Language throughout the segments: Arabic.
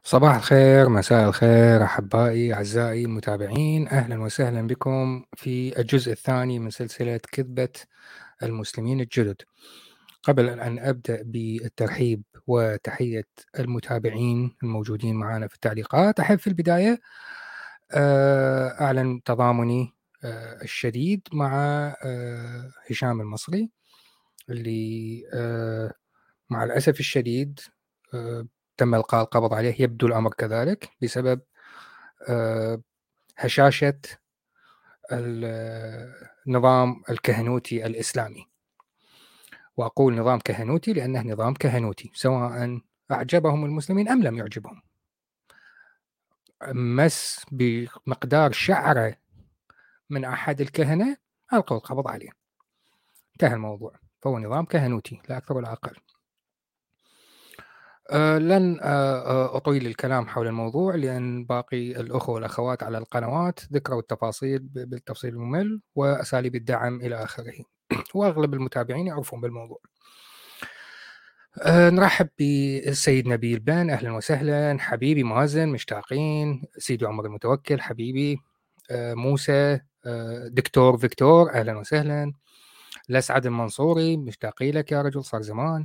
صباح الخير، مساء الخير، أحبائي أعزائي المتابعين، أهلا وسهلا بكم في الجزء الثاني من سلسلة كذبة المسلمين الجدد. قبل أن أبدأ بالترحيب وتحية المتابعين الموجودين معنا في التعليقات، أحب في البداية أعلن تضامني الشديد مع هشام المصري اللي مع الأسف الشديد آه، تم إلقاء القبض عليه. يبدو الأمر كذلك بسبب هشاشة النظام الكهنوتي الإسلامي، وأقول نظام كهنوتي لأنه نظام كهنوتي سواء أعجبهم المسلمين أم لم يعجبهم. مس بمقدار شعرة من أحد الكهنة ألقوا القبض عليه، انتهى الموضوع. فهو نظام كهنوتي لا أكثر ولا أقل. لن أطيل الكلام حول الموضوع لأن باقي الأخوة والأخوات على القنوات ذكروا التفاصيل بالتفصيل الممل وأساليب الدعم إلى آخره وأغلب المتابعين يعرفون بالموضوع. نرحب بالسيد نبيل بن، أهلا وسهلا. حبيبي مازن، مشتاقين. سيدي عمر المتوكل حبيبي. موسى، دكتور فيكتور، أهلا وسهلا. الأسعد المنصوري، مشتاقين لك يا رجل، صار زمان.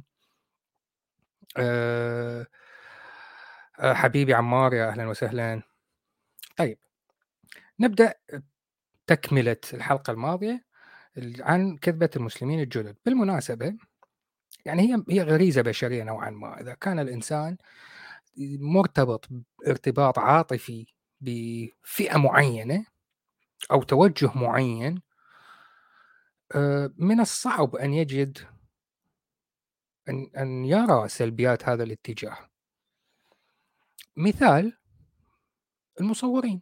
حبيبي عمار، يا أهلا وسهلا. طيب، نبدأ تكملة الحلقة الماضية عن كذبة المسلمين الجدد. بالمناسبة يعني هي غريزة بشرية نوعا ما. إذا كان الإنسان مرتبط ارتباط عاطفي بفئة معينة أو توجه معين، من الصعب أن يجد أن يرى سلبيات هذا الاتجاه. مثال المصورين.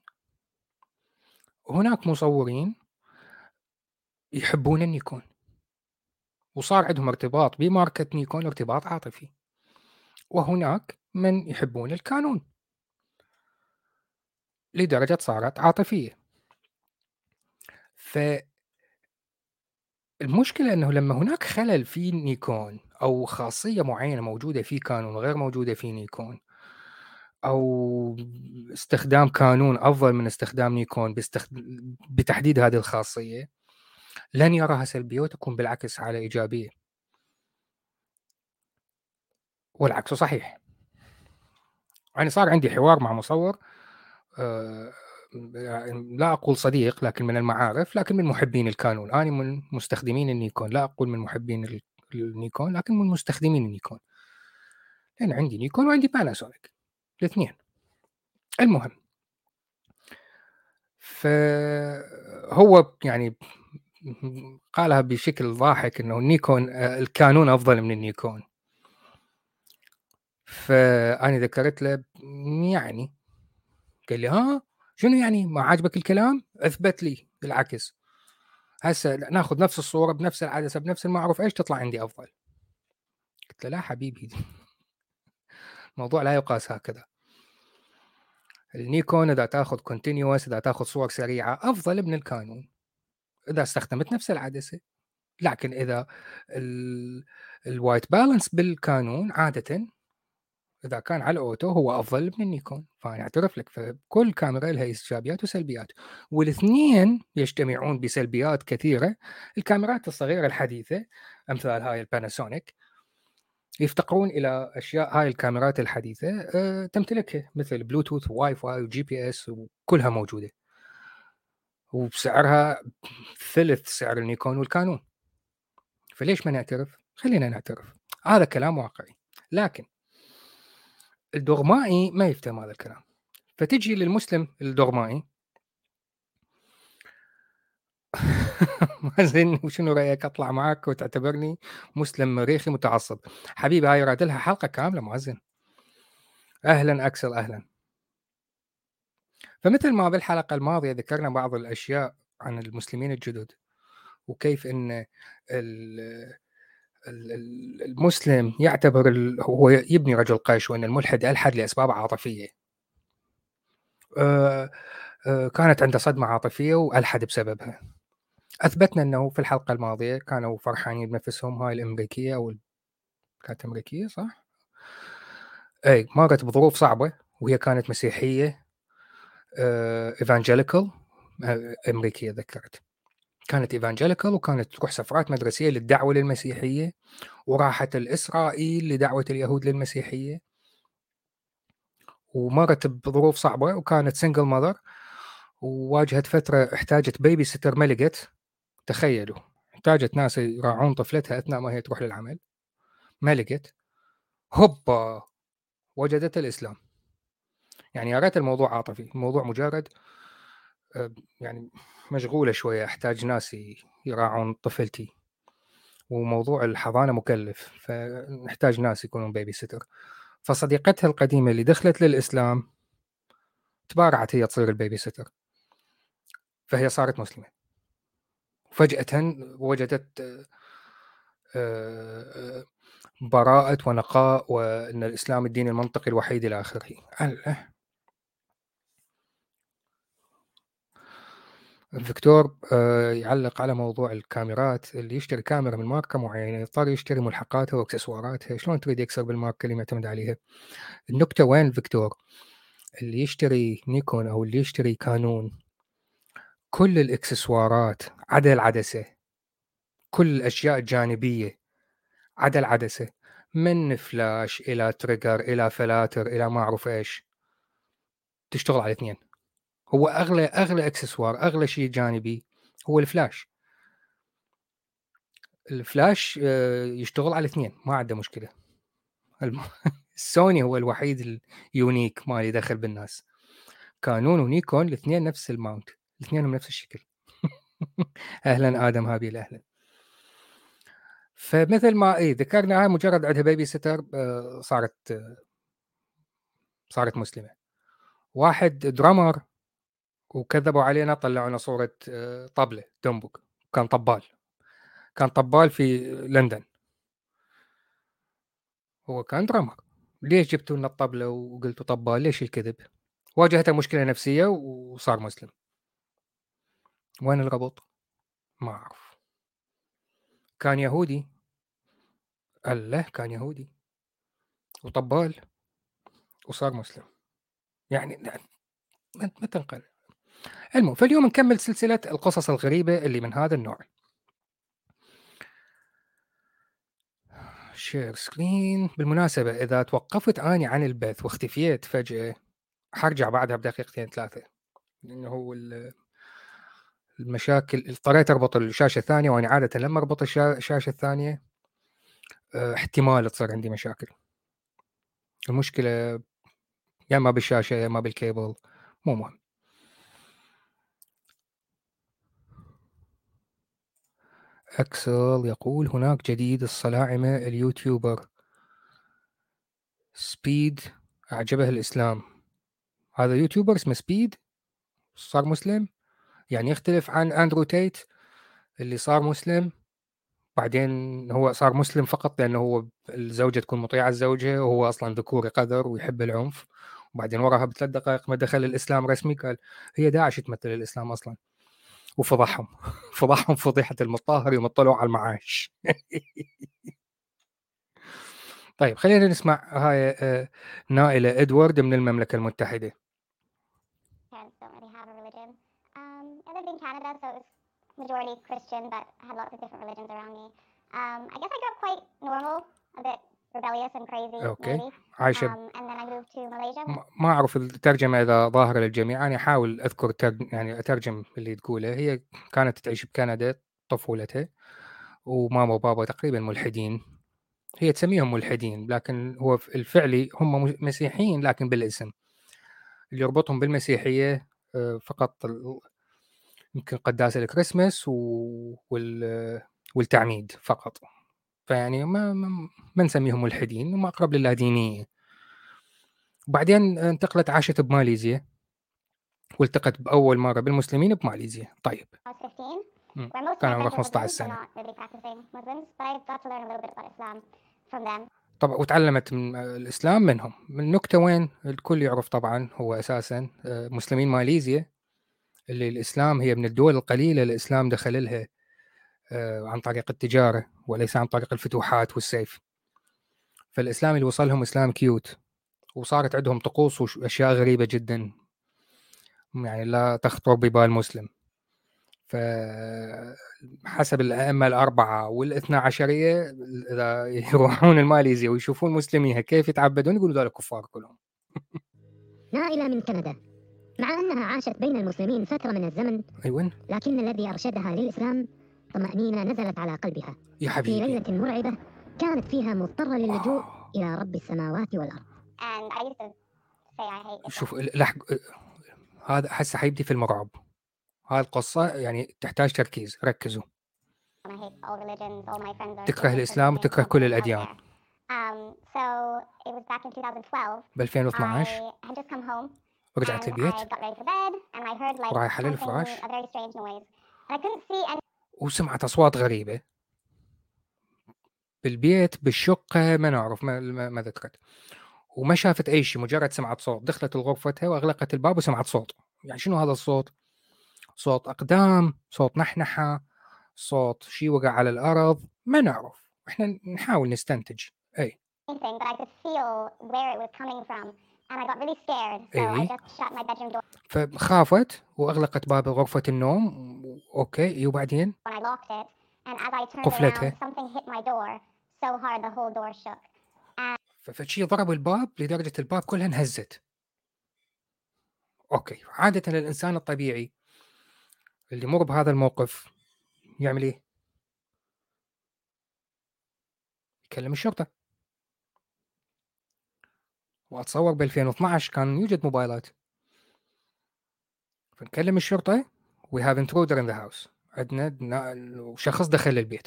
هناك مصورين يحبون النيكون وصار عندهم ارتباط بماركة نيكون ارتباط عاطفي، وهناك من يحبون الكانون لدرجة صارت عاطفية. فالمشكلة أنه لما هناك خلل في نيكون أو خاصية معينة موجودة في كانون وغير موجودة في نيكون، أو استخدام كانون أفضل من استخدام نيكون بتحديد هذه الخاصية، لن يراها سلبية وتكون بالعكس على إيجابية، والعكس صحيح. يعني صار عندي حوار مع مصور، لا أقول صديق لكن من المعارف، لكن من محبين الكانون. أنا من مستخدمين النيكون، لا أقول من محبين النيكون لكن من مستخدمين النيكون، لأن عندي نيكون وعندي باناسونيك الاثنين. المهم، فهو يعني قالها بشكل ضاحك إنه النيكون الكانون أفضل من النيكون. فأنا ذكرت له يعني، قال لي ها شنو يعني ما عاجبك الكلام؟ اثبت لي العكس. هسه ناخذ نفس الصورة بنفس العدسة بنفس المعروف ايش تطلع عندي أفضل. قلت له لا حبيبي الموضوع لا يقاس هكذا. النيكون إذا تاخذ كونتينيوس، إذا تاخذ صور سريعة أفضل من الكانون إذا استخدمت نفس العدسة. لكن إذا الوايت بالانس بالكانون عادة إذا كان على الأوتو هو أفضل من النيكون. فأنا أعترف لك، فكل كاميرا لها إيجابيات وسلبيات، والاثنين يجتمعون بسلبيات كثيرة. الكاميرات الصغيرة الحديثة أمثال هاي الباناسونيك يفتقرون إلى أشياء هاي الكاميرات الحديثة تمتلكها، مثل بلوتوث وواي فاي وجي بي اس، وكلها موجودة وبسعرها ثلث سعر النيكون والكانون. فليش ما نعترف؟ خلينا نعترف، هذا كلام واقعي. لكن الدغمائي ما يفتهم هذا الكلام. فتجي للمسلم الدغمائي مازن وشنو رأيك أطلع معك وتعتبرني مسلم مريخي متعصب؟ حبيبي هاي راد لها حلقة كاملة مازن. أهلا أكسل، أهلا. فمثل ما بالحلقة الماضية ذكرنا بعض الأشياء عن المسلمين الجدد، وكيف أن المسلم يعتبر هو يبني رجل قش، وأن الملحد ألحد لأسباب عاطفية. كانت عنده صدمة عاطفية وألحد بسببها. أثبتنا أنه في الحلقة الماضية كانوا فرحانين بنفسهم. هاي الأمريكية كانت أمريكية صح؟ أي مرت بظروف صعبة وهي كانت مسيحية إيفانجيليكال أمريكية، ذكرت كانت إيفانجيليكال، وكانت تروح سفرات مدرسية للدعوة للمسيحية، وراحت الإسرائيل لدعوة اليهود للمسيحية، ومرت بظروف صعبة، وكانت سنجل ماذر، وواجهت فترة احتاجت بيبي ستر ما لقت. تخيلوا، احتاجت ناس يراعون طفلتها أثناء ما هي تروح للعمل، ما لقت، هوبا وجدت الإسلام. يعني يا ريت الموضوع عاطفي، الموضوع مجرد يعني مشغولة شوية، أحتاج ناس يراعون طفلتي، وموضوع الحضانة مكلف، فنحتاج ناس يكونون بيبي ستر. فصديقتها القديمة اللي دخلت للإسلام تبارعت هي تصير البيبي ستر، فهي صارت مسلمة. فجأة وجدت براءة ونقاء، وأن الإسلام الدين المنطقي الوحيد إلى آخره. الدكتور يعلق على موضوع الكاميرات، اللي يشتري كاميرا من ماركة معينة يضطر يشتري ملحقاتها واكسسواراتها، شلون تريد يكسر بالماركة اللي معتمد عليها؟ النكتة وين فيكتور؟ اللي يشتري نيكون أو اللي يشتري كانون، كل الإكسسوارات عدا العدسة، كل الأشياء الجانبية عدا العدسة، من فلاش إلى تريجر إلى فلاتر إلى ما أعرف إيش، تشتغل على اثنين. هو أغلى إكسسوار، أغلى شيء جانبي هو الفلاش. الفلاش يشتغل على اثنين، ما عنده مشكلة. السوني هو الوحيد اليونيك ما يدخل بالناس. كانون ونيكون الاثنين نفس الماونت، الاثنين نفس الشكل. اهلا ادم هابيل، اهلا. فمثل ما ذكرنا، مجرد عندها بيبي ستر صارت مسلمه. واحد درامر وكذبوا علينا، طلعوا لنا صوره طبله دمبك، كان طبال في لندن، هو كان درامر. ليش جبتوا لنا الطبله وقلتوا طبال؟ ليش الكذب؟ واجهته مشكله نفسيه وصار مسلم. وين الربط؟ ما اعرف. كان يهودي، الله، كان يهودي وطبال وصار مسلم. يعني ما تنقل. المهم، فاليوم نكمل سلسلة القصص الغريبة اللي من هذا النوع. شير سكرين. بالمناسبة، إذا توقفت أني عن البث واختفيت فجأة، حرجع بعدها بدقيقتين ثلاثة، لأنه هو المشاكل. اضطريت أربط الشاشة الثانية، وأنا عادة لما أربط الشاشة الثانية احتمال تصير عندي مشاكل. المشكلة يا ما بالشاشة يا ما بالكيبل، مو مهم. أكسل يقول هناك جديد الصلاعمة اليوتيوبر سبيد أعجبه الإسلام. هذا يوتيوبر اسمه سبيد صار مسلم، يعني يختلف عن أندرو تيت اللي صار مسلم بعدين هو صار مسلم فقط لأنه هو الزوجة تكون مطيعة الزوجة، وهو أصلا ذكوري قذر ويحب العنف، وبعدين وراها ب3 دقائق ما دخل الإسلام رسمي قال هي داعش تمثل الإسلام أصلا، وفضحهم. فضحهم فضيحة المطهر يوم طلعوا على المعاش. طيب خلينا نسمع هاي نائلة إدوارد من المملكة المتحدة. Parents don't really have a religion. I lived in Canada, so it was majority Christian, but I had lots of different religions around me. I guess I grew up quite normal, a bit rebellious and crazy, أوكي. maybe. عايشة And then I moved to Malaysia. ما أعرف الترجمة إذا ظاهرة للجميع، أنا أحاول أذكر يعني أترجم اللي تقوله. هي كانت تعيش بكندا طفولتها، وماما وبابا تقريبا ملحدين، هي تسميهم ملحدين لكن هو الفعلي هم مسيحيين لكن بالاسم. اللي يربطهم بالمسيحية فقط يمكن قداس الكريسماس والتعميد فقط. فيعني ما نسميهم ملحدين، هم أقرب للادينية. وبعدين انتقلت عاشت بماليزيا، والتقت بأول مرة بالمسلمين بماليزيا. طيب I was 15, where most of كان my عمره friends were 15 Muslims, but سنة. not really practicing Muslims. But I got to learn a little bit about Islam from them. طبعا وتعلمت من الإسلام منهم. من النكتة وين الكل يعرف طبعا هو أساسا مسلمين ماليزيا، اللي الإسلام هي من الدول القليلة الإسلام دخل لها عن طريق التجارة وليس عن طريق الفتوحات والسيف. فالإسلام اللي وصلهم إسلام كيوت، وصارت عندهم طقوس وأشياء غريبة جدا يعني لا تخطر ببال مسلم. فحسب الأئمة الأربعة والاثنا عشرية إذا يروحون الماليزيا ويشوفون مسلميها كيف يتعبدون يقولوا ذول كفار كلهم. نائلة من كندا، مع أنها عاشت بين المسلمين فترة من الزمن، أيوة لكن الذي أرشدها للإسلام طمأنينة نزلت على قلبها يا في حبيبي. ليلة مرعبة كانت فيها مضطرة للجوء إلى رب السماوات والأرض. And I used to say I hate Islam. شوف هذا هسه حيبدي في المرعب. هاي القصة يعني تحتاج تركيز، ركزوا. I hate all religions. All my friends are تكره Buddhists الإسلام and وتكره everything كل out الأديان. there. So it was back in 2012. ب 2012 I had just come home رجعت and للبيت I got ready for bed and I heard like ورايحة something, للفراش a very strange noise. And I couldn't see any وسمعت أصوات غريبة بالبيت بالشقة، ما نعرف ما ذكرت، وما شافت أي شيء، مجرد سمعت صوت. دخلت لغرفتها وأغلقت الباب وسمعت صوت. يعني شنو هذا الصوت؟ صوت أقدام، صوت نحنحة، صوت شيء وقع على الأرض، ما نعرف، إحنا نحاول نستنتج. أي anything, but I could feel where it was coming from. And I got really scared. So I أي just shut my bedroom door فخافت وأغلقت باب غرفة النوم. أوكي وبعدين and I locked it. And as I turned قفلتها. around, something hit my door so hard the whole door shook. فشي ضرب الباب لدرجة الباب كلها انهزت. أوكي، عادة الإنسان الطبيعي اللي يمر بهذا الموقف يعمل إيه؟ يكلم الشرطة. وأتصور ب 2012 كان يوجد موبايلات، فنكلم الشرطة we have intruder in the house، عندنا شخص دخل البيت.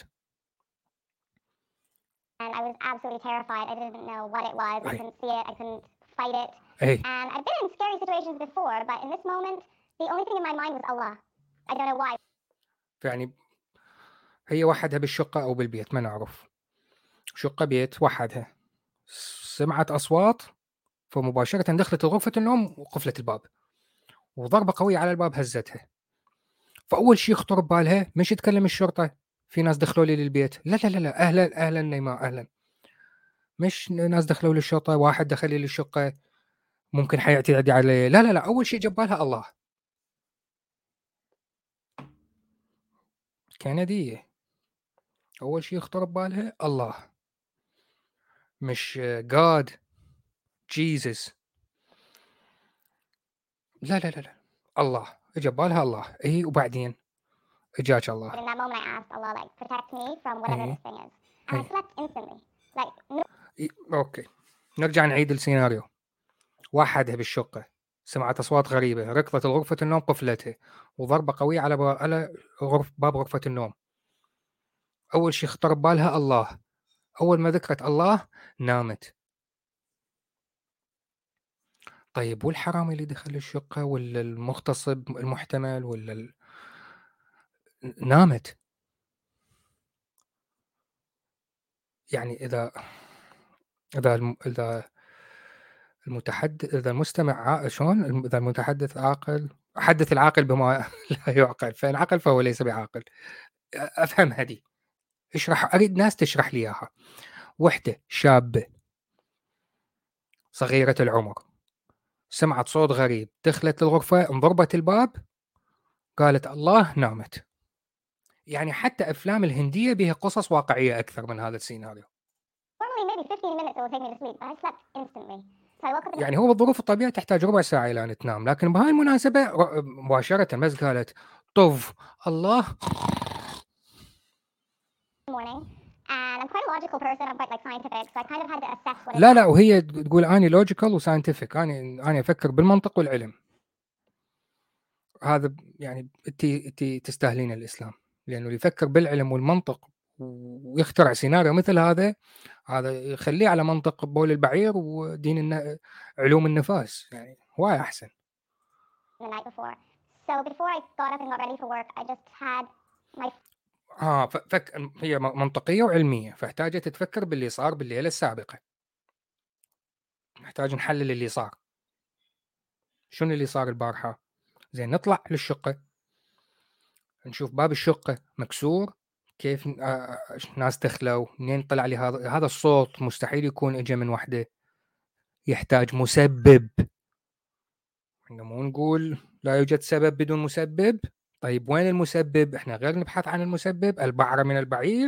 And I was absolutely terrified. I didn't know what it was. I أي. couldn't see it. I couldn't fight it. أي And I've been in scary situations before, but in this moment, the only thing in my mind was Allah. I don't know why. يعني هي وحدها بالشقة أو بالبيت ما نعرف، شقة بيت وحدها، سمعت أصوات فمباشرة دخلت غرفة النوم وقفلت الباب، وضربة قوية على الباب هزتها. فأول شيء يخطر ببالها مش تكلم الشرطة، في ناس دخلوا لي للبيت، لا لا لا لا، أهلا نيماء أهلا، مش ناس دخلوا للشرطة، واحد دخل لي للشقة ممكن حيعتدي علي، لا لا لا، أول شيء جبالها الله. كندية أول شيء يخطر ببالها الله، مش God Jesus، لا لا لا لا، الله اجى ببالها الله. اي وبعدين اجاك But الله. in that moment, I asked Allah, like, protect me from whatever اي this thing is. And I اي slept instantly. Like, no اوكي، نرجع نعيد السيناريو. وحدها بالشقة، سمعت أصوات غريبة، ركضت لغرفة النوم قفلتها، وضربة قوية على باب غرفة النوم. أول شيء خطر ببالها الله، أول ما ذكرت الله نامت. طيب والحرامي اللي دخل الشقة ولا المغتصب المحتمل ولا نامت. يعني إذا إذا المستمع شلون؟ إذا المتحدث عاقل، حدث العاقل بما لا يعقل، فإن عقل فهو ليس بعاقل. أفهمها دي، أريد ناس تشرح لي إياها. وحدة شابة صغيرة العمر سمعت صوت غريب، دخلت للغرفة، انضربت الباب، قالت الله، نامت. يعني حتى أفلام الهندية بها قصص واقعية أكثر من هذا السيناريو. normally maybe 15 minutes it will take me to sleep, but I slept instantly. So I woke up in يعني هو بالظروف الطبيعية تحتاج ربع ساعة إلى أن تنام، لكن بهاي المناسبة مباشرة بس قالت طف الله. the morning. And I'm quite a logical person. I'm quite like scientific. So I kind of had to assess what لا had لا، وهي تقول أني لوجيكال وساينتفك، أنا أفكر بالمنطق والعلم. هذا يعني أنت تستاهلين الإسلام، لأنه اللي يفكر بالعلم والمنطق ويخترع سيناريو مثل هذا يخليه على منطق بول البعير ودين علوم النفاس، يعني هواي أحسن. the night before. So before I got up and got ready for work, I just had my هي منطقية وعلمية، فاحتاجت تفكر باللي صار بالليلة السابقة. نحتاج نحلل اللي صار، شنو اللي صار البارحة. زين، نطلع للشقة نشوف باب الشقة مكسور، كيف ناس دخلوا، منين طلع لي هذا الصوت؟ مستحيل يكون اجى من وحده، يحتاج مسبب. احنا مو نقول لا يوجد سبب بدون مسبب. طيب وين المسبب؟ احنا غير نبحث عن المسبب، البعرة من البعير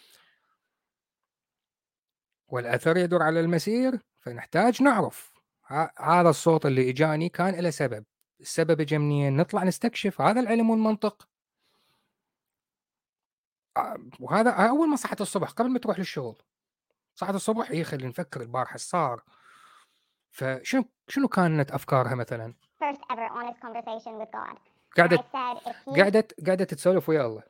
والأثر يدور على المسير، فنحتاج نعرف هذا الصوت اللي إجاني كان له سبب. السبب إجا منين؟ نطلع نستكشف، هذا العلم والمنطق. وهذا أول ما صحت الصبح قبل ما تروح للشغل، صحت الصبح خلينا نفكر البارحة إيش صار. فشنو كانت أفكارها مثلا؟ First ever honest conversation with God. And I قاعدة said, if he قاعدة تتسولف ويا الله،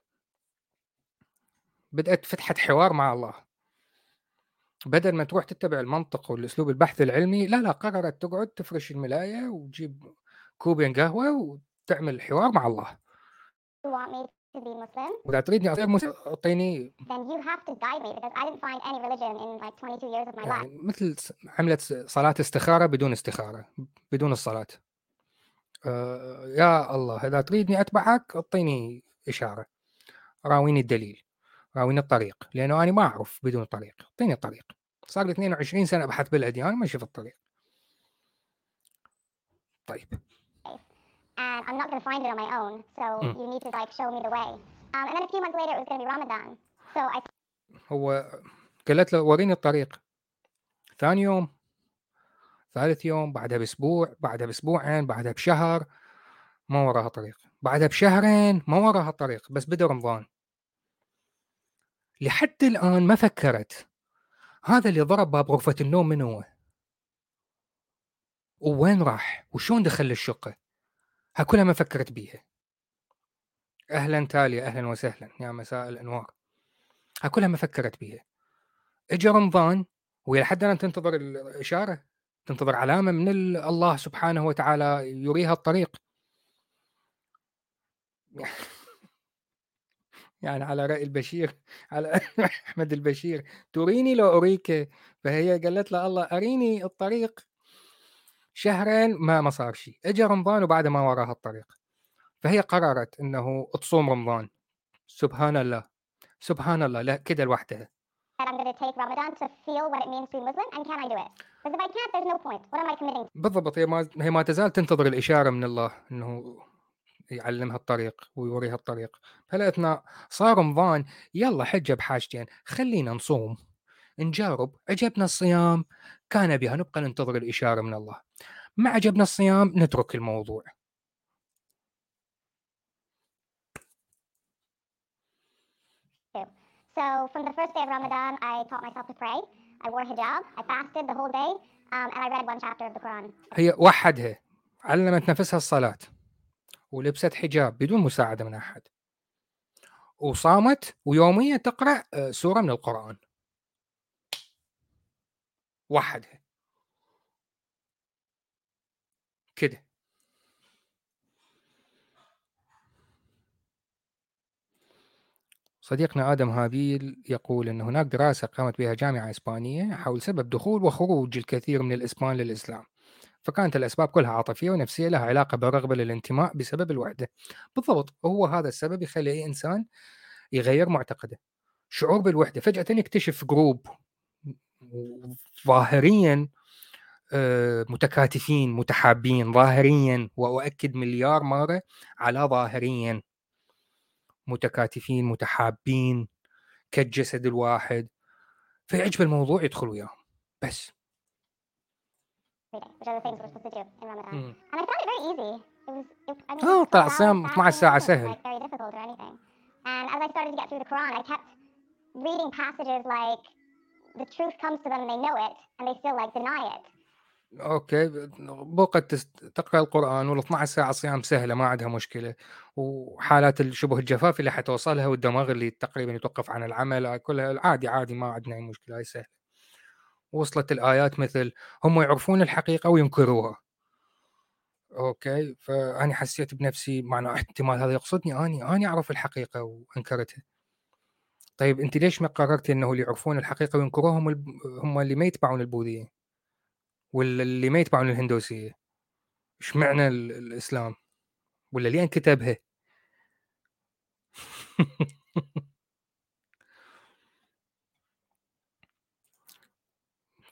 بدأت فتحت حوار مع الله، بدل ما تروح تتبع المنطق والأسلوب البحث العلمي، لا قررت تقعد تفرش الملاية وتجيب كوبين قهوة وتعمل حوار مع الله. you want me to be Muslim, وإذا تريدني أصير مسلم أعطيني، then you have to guide me because I didn't find any religion in like 22 years of my life. يعني مثل عملت صلاة استخارة بدون استخارة، بدون الصلاة. يا الله إذا تريدني أتبعك أعطيني إشارة، راويني الدليل، راويني الطريق، لأنه أنا ما أعرف بدون طريق، أعطيني الطريق. صار لي 22 سنة أبحث بالأديان ما شفت الطريق. طيب And I'm not going to find it on my own, so you need to like show me the way. And then a few months later it was going to be Ramadan, so I هو قالت له وريني الطريق. ثاني يوم، ثالث يوم، بعدها بأسبوع، بعدها بأسبوعين، بعدها بشهر، ما وراها طريق، بعدها بشهرين ما وراها طريق. بس بدأ رمضان، لحد الآن ما فكرت هذا اللي ضرب باب غرفة النوم من هو؟ ووين راح؟ وشون دخل الشقة؟ كلها ما فكرت بيها. أهلا تاليا، أهلا وسهلا، يا مساء الأنوار. كلها ما فكرت بيها. اجى رمضان وهي لحد الآن تنتظر الإشارة، تنتظر علامة من الله سبحانه وتعالى يريها الطريق. يعني على رأي البشير، على أحمد البشير، تريني لو أريك. فهي قالت له الله أريني الطريق. شهرين ما صار شيء، اجى رمضان وبعد ما وراها الطريق، فهي قررت انه تصوم رمضان. سبحان الله، سبحان الله، لا كده لوحدها. said I'm going to take Ramadan to feel what it means to be Muslim, and can I do it? Because if I can't, there's no point. What am I committing to? بالضبط، هي ما تزال تنتظر الإشارة من الله انه يعلمها الطريق ويوريها الطريق. فلقيتنا صار رمضان، يلا حجة بحاجتين، خلينا نصوم نجارب. عجبنا الصيام كان بها، نبقى ننتظر الإشارة من الله. ما عجبنا الصيام نترك الموضوع. So from the first day of Ramadan, I taught myself to pray. I wore hijab. I fasted the whole day, and I read one chapter of the Quran. هي وحدها، علمت نفسها الصلاة ولبست حجاب بدون مساعدة من أحد، وصامت ويوميا تقرأ سورة من القرآن وحدها كده. صديقنا آدم هابيل يقول أن هناك دراسة قامت بها جامعة إسبانية حول سبب دخول وخروج الكثير من الإسبان للإسلام، فكانت الأسباب كلها عاطفية ونفسية لها علاقة بالرغبة للانتماء بسبب الوحدة. بالضبط، هو هذا السبب يخلي أي إنسان يغير معتقده، شعور بالوحدة. فجأة يكتشف جروب ظاهريا متكاتفين متحابين ظاهريا، وأؤكد مليار مرة على ظاهريا، متكاتفين متحابين كالجسد الواحد، فيعجب الموضوع يدخل وياه بس. Which are the things we're supposed to do in Ramadan. And I found it very easy. It was 12 طلع hours الصيام 12 ساعة fasting. It سهل. wasn't like very difficult or anything. And as I started to get through the Quran, I kept reading passages like the truth comes to them and they know it, and they still like deny it. اوكي، بوقت تقرا القران وال 12 ساعه صيام سهله ما عندها مشكله، وحالات الشبه الجفاف اللي حتوصلها والدماغ اللي تقريبا يتوقف عن العمل كلها عادي عادي، ما عندنا اي مشكله، هاي سهله. وصلت الايات مثل هم يعرفون الحقيقه وينكروها. اوكي، فاني حسيت بنفسي معنى احتمال هذا يقصدني، اني اعرف الحقيقه وانكرتها. طيب انت ليش ما قررتي انه اللي يعرفون الحقيقه وينكروها هم اللي ما يتبعون البوذيه ولا اللي ما يتبعون الهندوسيه؟ ايش معنى الاسلام ولا ليه كتبها؟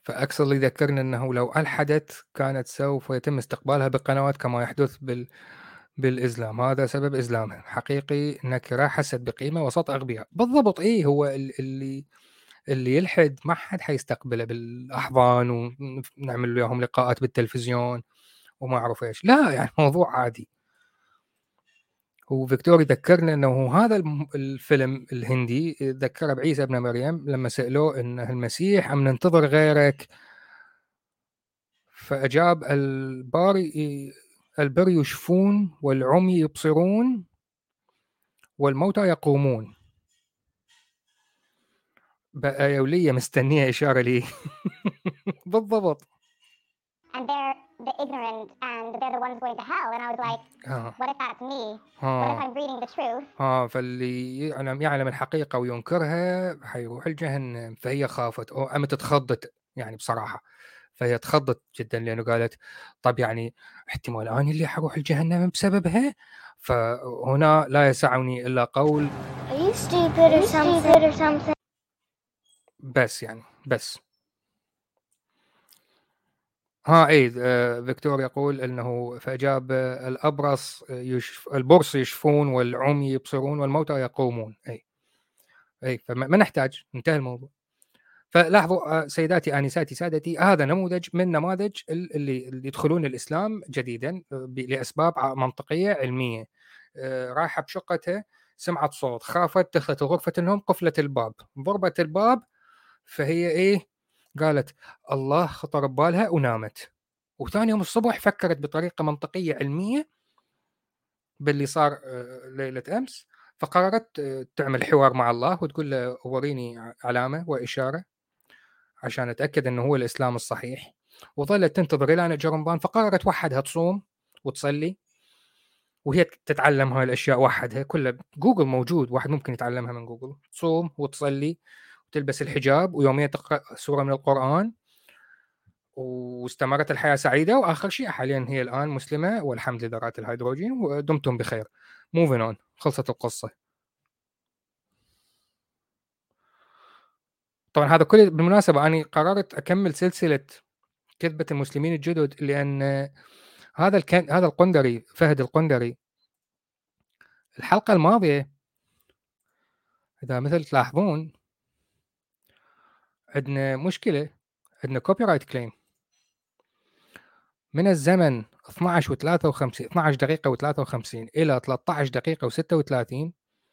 فأكسل يذكرنا أنه لو ألحدت كانت سوف يتم استقبالها بقنوات كما يحدث بالإسلام. هذا سبب إسلامها حقيقي، نكرة حست بقيمة وسط أغبياء. بالضبط، إيه هو اللي يلحد ما حد حيستقبله بالأحضان ونعمل لهم لقاءات بالتلفزيون وما أعرف إيش، لا يعني موضوع عادي. وفيكتور يذكرنا أنه هذا الفيلم الهندي ذكر بعيسى ابن مريم لما سألوه أنه المسيح أم ننتظر غيرك، فأجاب البر يشفون والعمي يبصرون والموتى يقومون. بقى يولية مستنية إشارة لي. بالضبط. And they're the ignorant and they're the ones going to hell. And I was like, what if that's me? What if I'm reading the truth? فاللي يعلم الحقيقة وينكرها حيروح الجهنم. فهي خافت أو أمت اتخضت يعني بصراحة، فهي تخضت جدا لأنه قالت طب يعني احتمال أنا اللي حروح الجهنم بسببها. فهنا لا يسعني إلا قول Are you stupid or something? بس يعني بس فيكتور يقول انه فاجاب الابرص البرص يشفون والعمي يبصرون والموتى يقومون. اي فما نحتاج، انتهى الموضوع. فلاحظوا سيداتي انساتي سادتي، هذا نموذج من نماذج اللي يدخلون الاسلام جديدا لاسباب منطقيه علميه. رايحه بشقتها، سمعت صوت، خافت، دخلت غرفه النوم، قفلت الباب، ضربت الباب، فهي قالت الله خطر ببالها ونامت. وثاني يوم الصبح فكرت بطريقة منطقية علمية باللي صار ليلة أمس، فقررت تعمل حوار مع الله وتقول له وريني علامة وإشارة عشان أتأكد أنه هو الإسلام الصحيح. وظلت تنتظر إلى أن أجى رمضان، فقررت وحدها تصوم وتصلي، وهي تتعلم هاي الأشياء وحدها، كلها جوجل موجود، واحد ممكن يتعلمها من جوجل. تصوم وتصلي وتلبس الحجاب ويوميا تقرأ سورة من القرآن، واستمرت الحياة سعيدة. وآخر شيء حاليا هي الآن مسلمة والحمد لذرات الهيدروجين، ودمتم بخير. Moving on، خلصت القصة. طبعا هذا كله بالمناسبة أنا قررت أكمل سلسلة كذبة المسلمين الجدد، لأن هذا القندري، فهد القندري، الحلقة الماضية إذا مثل تلاحظون عندنا مشكلة، عندنا كوبي رايت كليم من الزمن 12 دقيقة و53 إلى 13 دقيقة و36.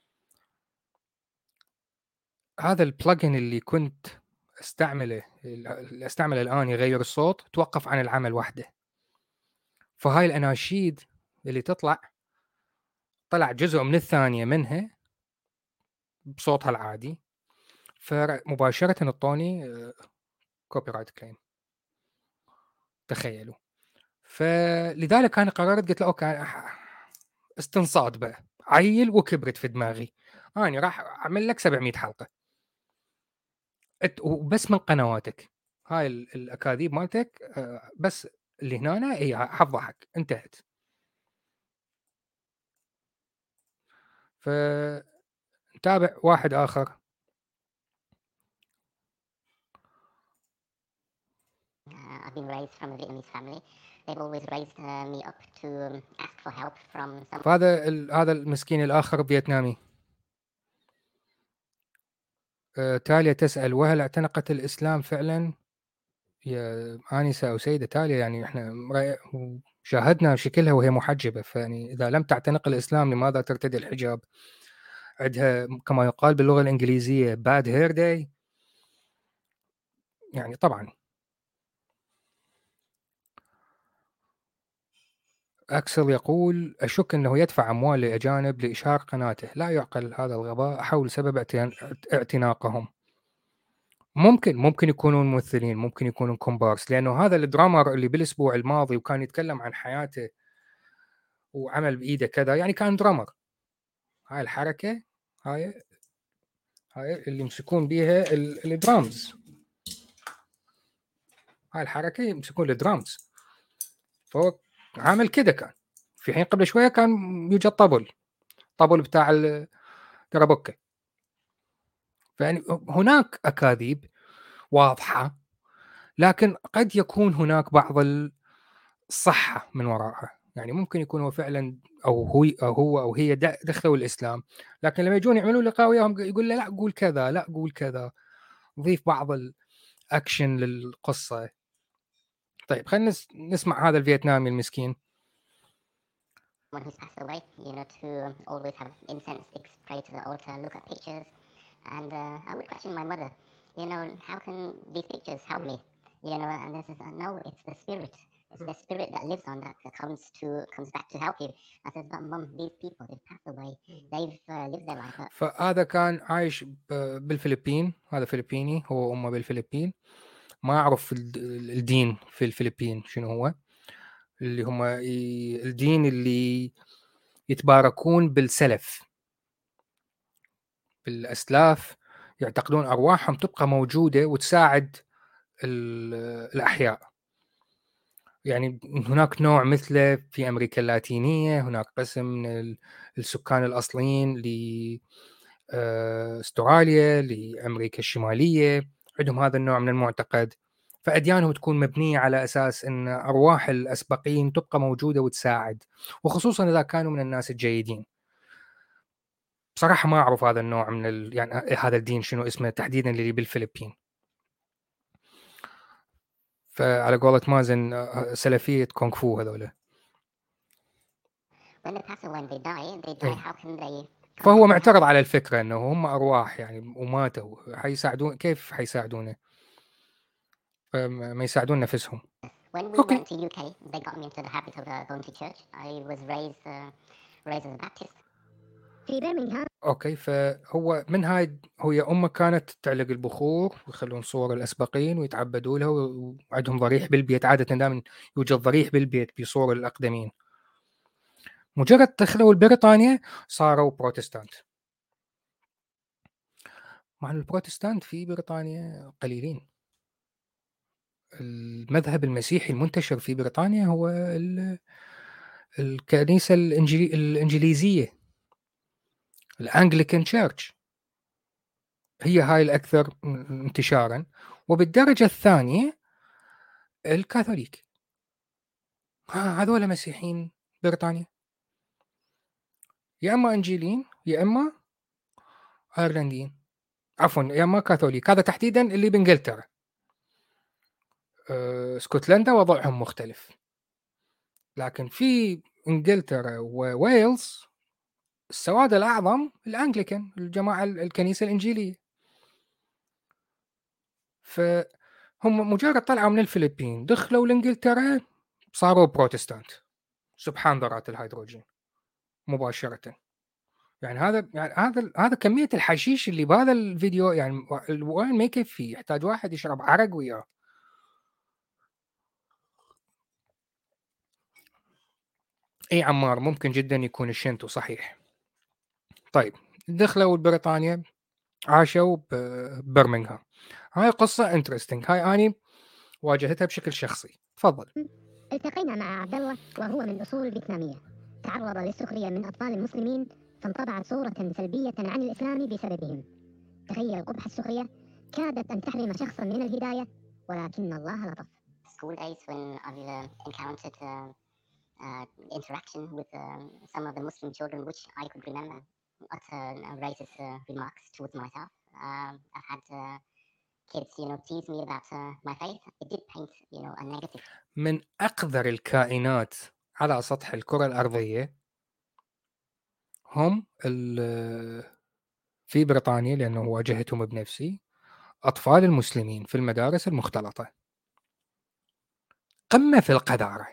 هذا البلجن اللي كنت استعمله الآن يغير الصوت توقف عن العمل وحده. فهاي الأناشيد اللي طلع جزء من الثانية منها بصوتها العادي، فمباشرة اعطوني كوبي رايت كليم، تخيلوا. فلذلك أنا قررت، قلت له أوكي استنصاد بقى، عيل وكبرت في دماغي، أنا راح أعمل لك 700 حلقة وبس من قنواتك هاي الأكاذيب مالتك، بس اللي هنا هي حفضحك، انتهت. فنتابع واحد آخر. I've been raised from a Vietnamese family. They've always raised me up to ask for help from some. هذا المسكين الآخر فيتنامي. تاليا تسأل وهل اعتنقت الإسلام فعلا يا آنسة أو سيدة تاليا؟ يعني إحنا شاهدنا شكلها وهي محجبة، فيعني إذا لم تعتنق الإسلام لماذا ترتدي الحجاب؟ عندها كما يقال باللغة الإنجليزية bad hair day. يعني طبعا أكسل يقول أشك أنه يدفع أموال لأجانب لإشهار قناته، لا يعقل هذا الغباء حول سبب اعتناقهم. ممكن يكونون ممثلين، ممكن يكونون كومبارس، لأنه هذا الدرامر اللي بالأسبوع الماضي وكان يتكلم عن حياته وعمل بإيده كذا، يعني كان درامر. هاي الحركة هاي اللي يمسكون بيها الدرامز، هاي الحركة يمسكون الدرامز، فهو عامل كده. كان في حين قبل شوية كان يوجد طبل بتاع الكرابوكة. فيعني هناك أكاذيب واضحة لكن قد يكون هناك بعض الصحة من وراءها. يعني ممكن يكون هو فعلا أو هي دخلوا الإسلام، لكن لما يجون يعملون لقاء وياهم يقول له لا قول كذا، لا قول كذا، ضيف بعض الأكشن للقصة. طيب خلينا نسمع هذا الفيتنامي المسكين. Someone who's passed away, to always have incense sticks, pray to the altar, look at pictures. And I would question my mother, how can these pictures help me? And this is, no, it's the spirit. It's the spirit that lives on that comes back to help you. I said, but mum, these people, they've passed away. They've lived their life. فهذا كان عايش بالفلبين، هذا فلبيني، هو وأمه بالفلبين. ما أعرف الدين في الفلبين شنو هو، اللي هم الدين اللي يتباركون بالسلف، بالأسلاف، يعتقدون أرواحهم تبقى موجودة وتساعد الأحياء. يعني هناك نوع مثله في أمريكا اللاتينية، هناك قسم من السكان الأصليين لأستراليا، لأمريكا الشمالية، عندهم هذا النوع من المعتقد. فأديانهم تكون مبنية على أساس أن أرواح الأسبقين تبقى موجودة وتساعد، وخصوصا إذا كانوا من الناس الجيدين. بصراحة ما أعرف هذا النوع من يعني هذا الدين شنو اسمه تحديدا اللي بالفلبين. فعلى قولة مازن سلفية كونغ فو هذولا. When they pass away and they die, how can they... فهو معترض على الفكرة أنه هم أرواح يعني وماتوا، حيساعدون، كيف حيساعدونه؟ ما يساعدون نفسهم. When we went to UK, they got me into the habit of going to church. I was raised as a Baptist. في برمنغهام. اوكي، فهو من هاي هي امه كانت تعلق البخور ويخلون صور الاسبقين ويتعبدوا لها، وعندهم ضريح بالبيت. عاده دائما يوجد ضريح بالبيت بصور الاقدمين. مجرد دخلوا بريطانيا صاروا بروتستانت، مع البروتستانت في بريطانيا قليلين. المذهب المسيحي المنتشر في بريطانيا هو الكنيسة الإنجليزية، الأنجليكان تشيرش، هي هاي الأكثر انتشارا. وبالدرجة الثانية الكاثوليك، هذول مسيحيين بريطانيا، يا إما إنجيليين يا إما أيرلنديين، عفوا يا إما كاثوليك. هذا تحديدا اللي بإنجلترا. اسكتلندا وضعهم مختلف، لكن في إنجلترا وويلز السواد الأعظم الأنجليكان، الجماعة الكنيسة الإنجيلية. فهم مجرد طلعوا من الفلبين دخلوا لإنجلترا صاروا بروتستانت، سبحان ذرات الهيدروجين مباشرة. يعني هذا كمية الحشيش اللي بهذا الفيديو، يعني الوين ما يكفي، يحتاج واحد يشرب عرق وياه. اي عمار، ممكن جدا يكون الشنتو صحيح. طيب دخلوا بريطانيا، عاشوا ببرمنغهام. هاي قصة انترستنج، هاي أني واجهتها بشكل شخصي. تفضل. التقينا مع عبد الله وهو من أصول فيتنامية، تعرض للسخرية من أطفال المسلمين فانطبعت صورة سلبية عن الإسلام بسببهم. تخيل قبح السخرية كادت أن تحرم شخصا من الهداية، ولكن الله لطف. School days when I've encountered interaction with some of the Muslim children, which I could remember, utter racist remarks towards myself. I've had kids, tease me about my faith. It did paint, a negative. من أقذر الكائنات على سطح الكرة الأرضية هم في بريطانيا، لأنه واجهتهم بنفسي، أطفال المسلمين في المدارس المختلطة. قمة في القذارة.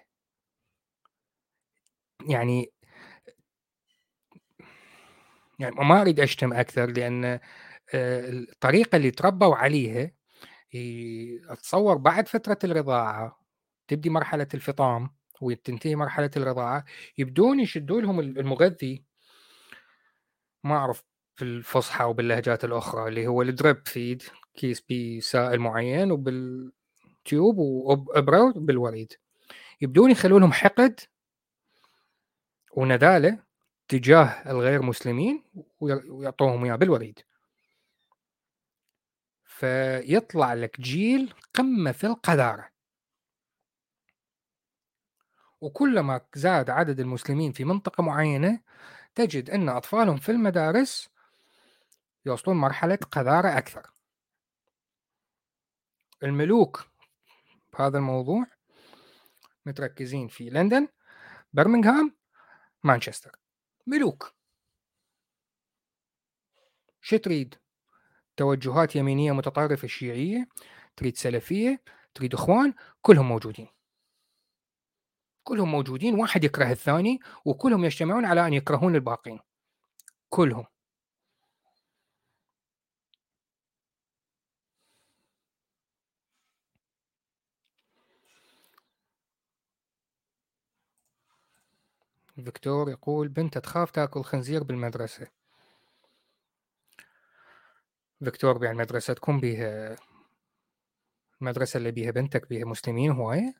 يعني ما أريد أشتم أكثر، لأن الطريقة اللي تربوا عليها، أتصور بعد فترة الرضاعة تبدي مرحلة الفطام وتنتهي مرحلة الرضاعة، يبدون يشدوا لهم المغذي، ما أعرف في الفصحى وباللهجات الأخرى، اللي هو الدريب فيد، كيس بسائل معين وبالتيوب وإبرة بالوريد. يبدون يخلوا لهم حقد وندالة تجاه الغير مسلمين ويعطوهم إياه بالوريد. فيطلع لك جيل قمة في القذارة. وكلما زاد عدد المسلمين في منطقة معينة تجد أن أطفالهم في المدارس يوصلون مرحلة قذارة أكثر. الملوك بهذا الموضوع متركزين في لندن، برمنغهام، مانشستر. ملوك. شو تريد؟ توجهات يمينية متطرفة شيعية، تريد سلفية، تريد إخوان، كلهم موجودين. كلهم موجودين، واحد يكره الثاني، وكلهم يجتمعون على أن يكرهون الباقين كلهم. فيكتور يقول بنت تخاف تاكل خنزير بالمدرسة. فيكتور يعني مدرستكم بيها، المدرسة اللي بيها بنتك بيها مسلمين هواية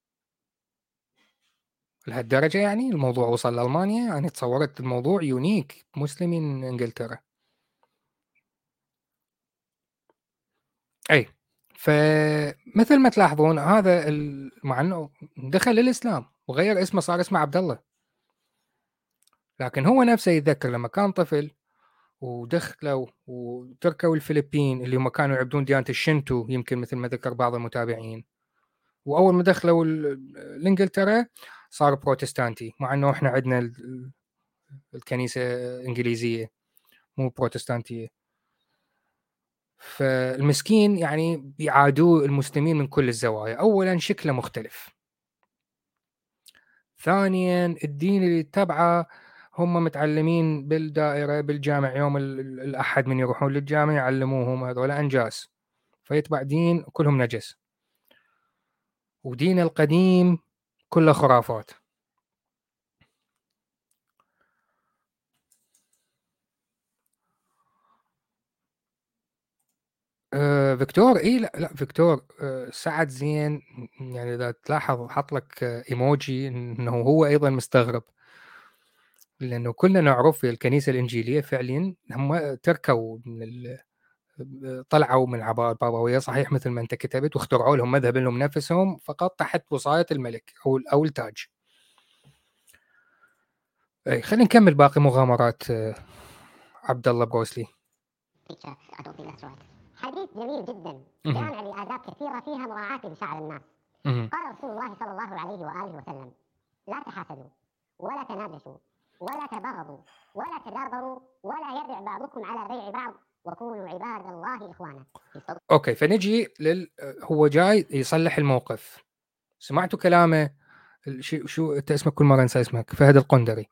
لهالدرجة؟ يعني الموضوع وصل لألمانيا؟ يعني تصورت الموضوع يونيك مسلمين إنجلترا. أي فمثل ما تلاحظون هذا مع أنه دخل الإسلام وغير اسمه، صار اسمه عبد الله، لكن هو نفسه يتذكر لما كان طفل ودخلوا وتركوا الفلبين اللي هم كانوا يعبدون ديانة الشنتو، يمكن مثل ما ذكر بعض المتابعين، وأول ما دخلوا لإنجلترا صار بروتستانتي، مع أنه إحنا عندنا الكنيسة إنجليزية مو بروتستانتية. فالمسكين يعني بيعادوه المسلمين من كل الزوايا. أولا شكله مختلف، ثانيا الدين اللي يتبعه هم متعلمين بالدائرة بالجامع، يوم الأحد من يروحون للجامع يعلموهم هذول أنجاس، فيتبع دين كلهم نجس، ودين القديم كله خرافات. فيكتور لا فيكتور سعد زين، يعني إذا تلاحظ حط لك إيموجي إنه هو أيضا مستغرب، لأنه كلنا نعرف في الكنيسة الإنجيلية فعليا هم تركوا من طلعوا من عباءة بابوية صحيح مثل ما أنت كتبت، واخترعوا لهم مذهب لهم نفسهم فقط تحت وصاية الملك أو التاج. خلينا نكمل باقي مغامرات عبد الله بروسلي. حديث جميل جدا جامع لآداب كثيرة فيها مراعاة لمشاعر الناس. قال رسول الله صلى الله عليه وآله وسلم: لا تحاسدوا ولا تناجشوا ولا تباغضوا ولا تدابروا ولا يبع بعضكم على بيع بعض وكونوا عباد الله إخوانا. أوكي، فنجي هو جاي يصلح الموقف. سمعتوا كلامه؟ شو أنت اسمك كل مرة أنسى اسمك، فهد القندري.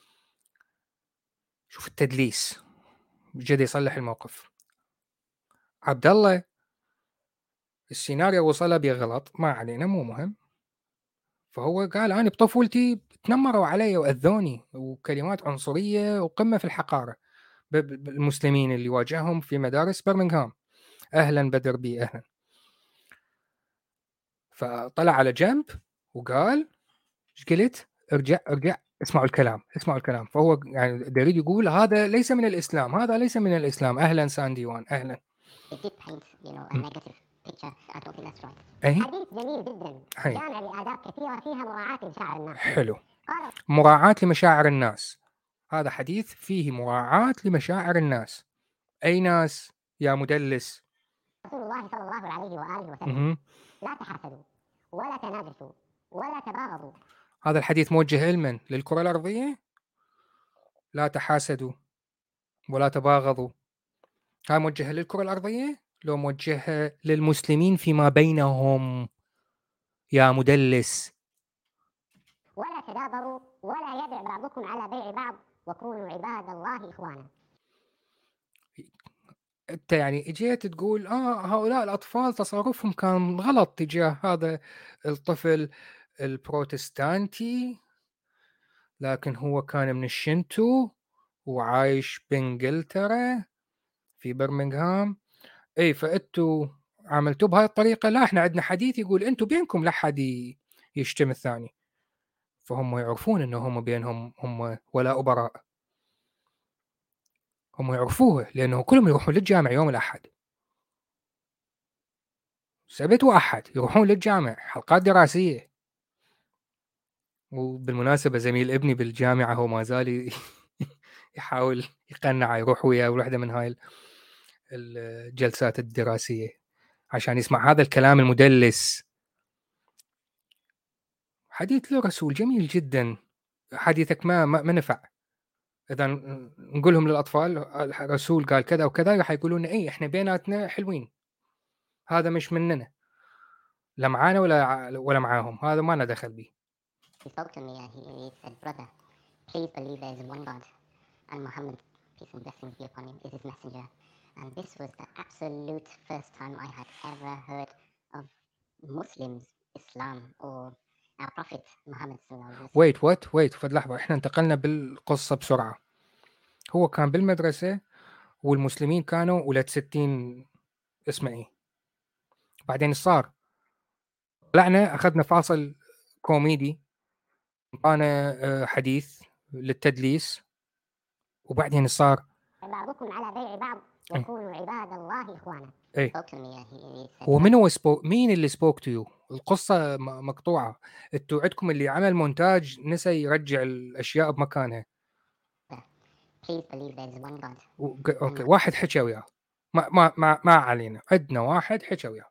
شوف التدليس، جد يصلح الموقف. عبد الله السيناريو وصله بغلط، ما علينا مو مهم. فهو قال أنا بطفولتي تنمروا علي وأذوني، وكلمات عنصرية وقمة في الحقارة بالمسلمين اللي واجههم في مدارس برمنغهام. أهلا بدر بي أهلا. فطلع على جنب وقال ايش قلت؟ ارجع اسمعوا الكلام. فهو يعني يريد يقول هذا ليس من الإسلام، هذا ليس من الإسلام. أهلا سانديوان أهلا. حديث جميل جدا جامع لآداب كثيرة فيها مراعاة لمشاعر الناس. حلو، مراعاة لمشاعر الناس. هذا حديث فيه مراعاة لمشاعر الناس. أي ناس يا مدلس؟ رسول الله صلى الله عليه وآله وسلم: لا تحاسدوا ولا تناجشوا ولا تباغضوا. هذا الحديث موجه لمن؟ للكرة الأرضية؟ لا تحاسدوا ولا تباغضوا، هاي موجهة للكرة الأرضية؟ لو موجهة للمسلمين فيما بينهم يا مدلس؟ ولا تدابروا ولا يبع بعضكم على بيع بعض وكونوا عباد الله إخوانا. أنت يعني اجيت تقول هؤلاء الأطفال تصرفهم كان غلط تجاه هذا الطفل البروتستانتي، لكن هو كان من الشنتو وعايش بإنجلترا في برمنغهام. اي فأنتوا عملتوا بهاي الطريقة. لا، احنا عندنا حديث يقول انتوا بينكم لا حد يشتم الثاني. فهم يعرفون انه هم بينهم هم ولا براء، هم يعرفوه لانه كلهم يروحون للجامع يوم الاحد. سبت وأحد يروحون للجامع حلقات دراسية. وبالمناسبة زميل ابني بالجامعة هو ما زال يحاول يقنع يروح وياه واحدة من هاي الجلسات الدراسية عشان يسمع هذا الكلام المدلس. حديث له رسول جميل جدا، حديثك ما نفع. إذا نقولهم للأطفال الرسول قال كذا وكذا راح يقولون إيه إحنا بيناتنا حلوين، هذا مش مننا، لا معانا ولا معاهم، هذا ما لنا دخل به. He spoke to me and he said, brother, please believe there is one God and Muhammad, peace and blessings be upon him, is his messenger. And this was the absolute first time I had ever heard of Muslims, Islam, or our Prophet Muhammad sallallahu alaihi wasallam. wait فد لحظة، إحنا انتقلنا بالقصة بسرعة. هو كان بالمدرسة والمسلمين كانوا ولاد 60 اسمه إيه. بعدين صار طلعنا أخذنا فاصل كوميدي، أنا حديث للتدليس، وبعدين صار بعضكم على بيع بعض وكونوا عباد الله إخوانا. إيه. Spoke to me and he said, هو من هو مين اللي سبوك تو يو؟ القصة مقطوعة، انتوا عندكم اللي عمل مونتاج نسى يرجع الأشياء بمكانها. please believe there is one God. أوكي واحد حكى وياه، ما علينا، عندنا واحد حكى وياه،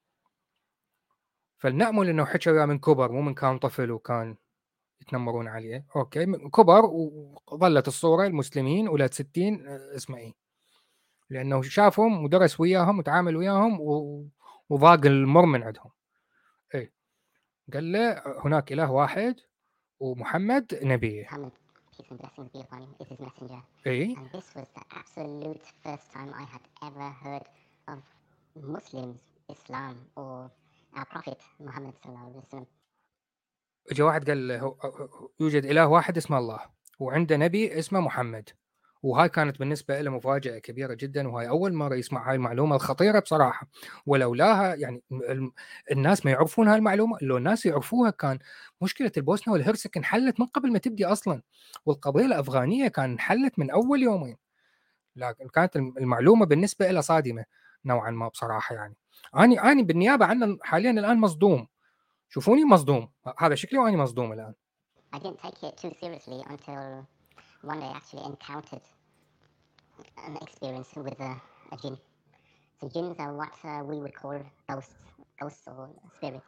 فلنأمل إنه حكى وياه من كبر مو من كان طفل وكان يتنمرون عليه. أوكي كبر وظلت الصورة المسلمين ولاد 60 اسمه إيه، لأنه شافهم ودرس وياهم وتعامل وياهم وضاق المر من عندهم. إيه قال له هناك إله واحد ومحمد نبيه. Muhammad, peace and blessings be upon him, is his messenger. إيه. And this was the absolute first time I had ever heard of Muslims, Islam, or our Prophet Muhammad sallallahu alaihi wasallam. جاء واحد قال له يوجد إله واحد اسمه الله وعنده نبي اسمه محمد، وهاي كانت بالنسبة له مفاجأة كبيرة جدا، وهاي أول مرة يسمع هاي المعلومة الخطيرة بصراحة. ولولاها يعني الناس ما يعرفون هاي المعلومة، لو الناس يعرفوها كان مشكلة البوسنة والهرسك انحلت من قبل ما تبدي أصلا، والقضية الأفغانية كان انحلت من أول يومين. لكن كانت المعلومة بالنسبة له صادمة نوعا ما بصراحة. يعني أنا بالنيابة عنه حاليا الآن مصدوم، شوفوني مصدوم، هذا شكلي وأنا مصدوم الآن. I didn't take it too seriously until one day I actually encountered an experience with a jinn. So jinns are what we would call ghosts or spirits.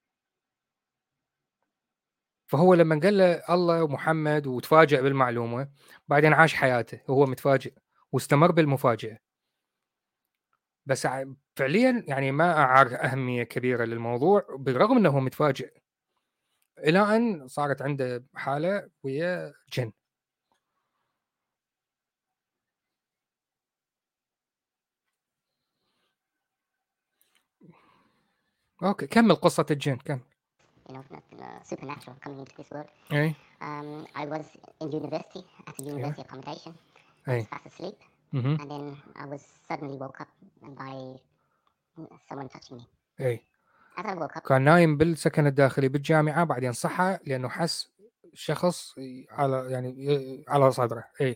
فهو لما قال له الله ومحمد وتفاجأ بالمعلومة، بعدين عاش حياته وهو متفاجئ واستمر بالمفاجأة. بس فعليا يعني ما أعار أهمية كبيرة للموضوع بالرغم أنه متفاجئ، إلى أن صارت عنده حالة ويا جن. أوكي كمل قصة الجن كمل. You know, supernatural coming into this world. أي. I was in university at a university accommodation. I أي. was fast asleep, and then I was suddenly woke up by someone touching me. أي. As I woke up, كان نايم بالسكن الداخلي بالجامعة، بعدين صحى لأنه حس شخص على صدره. أي.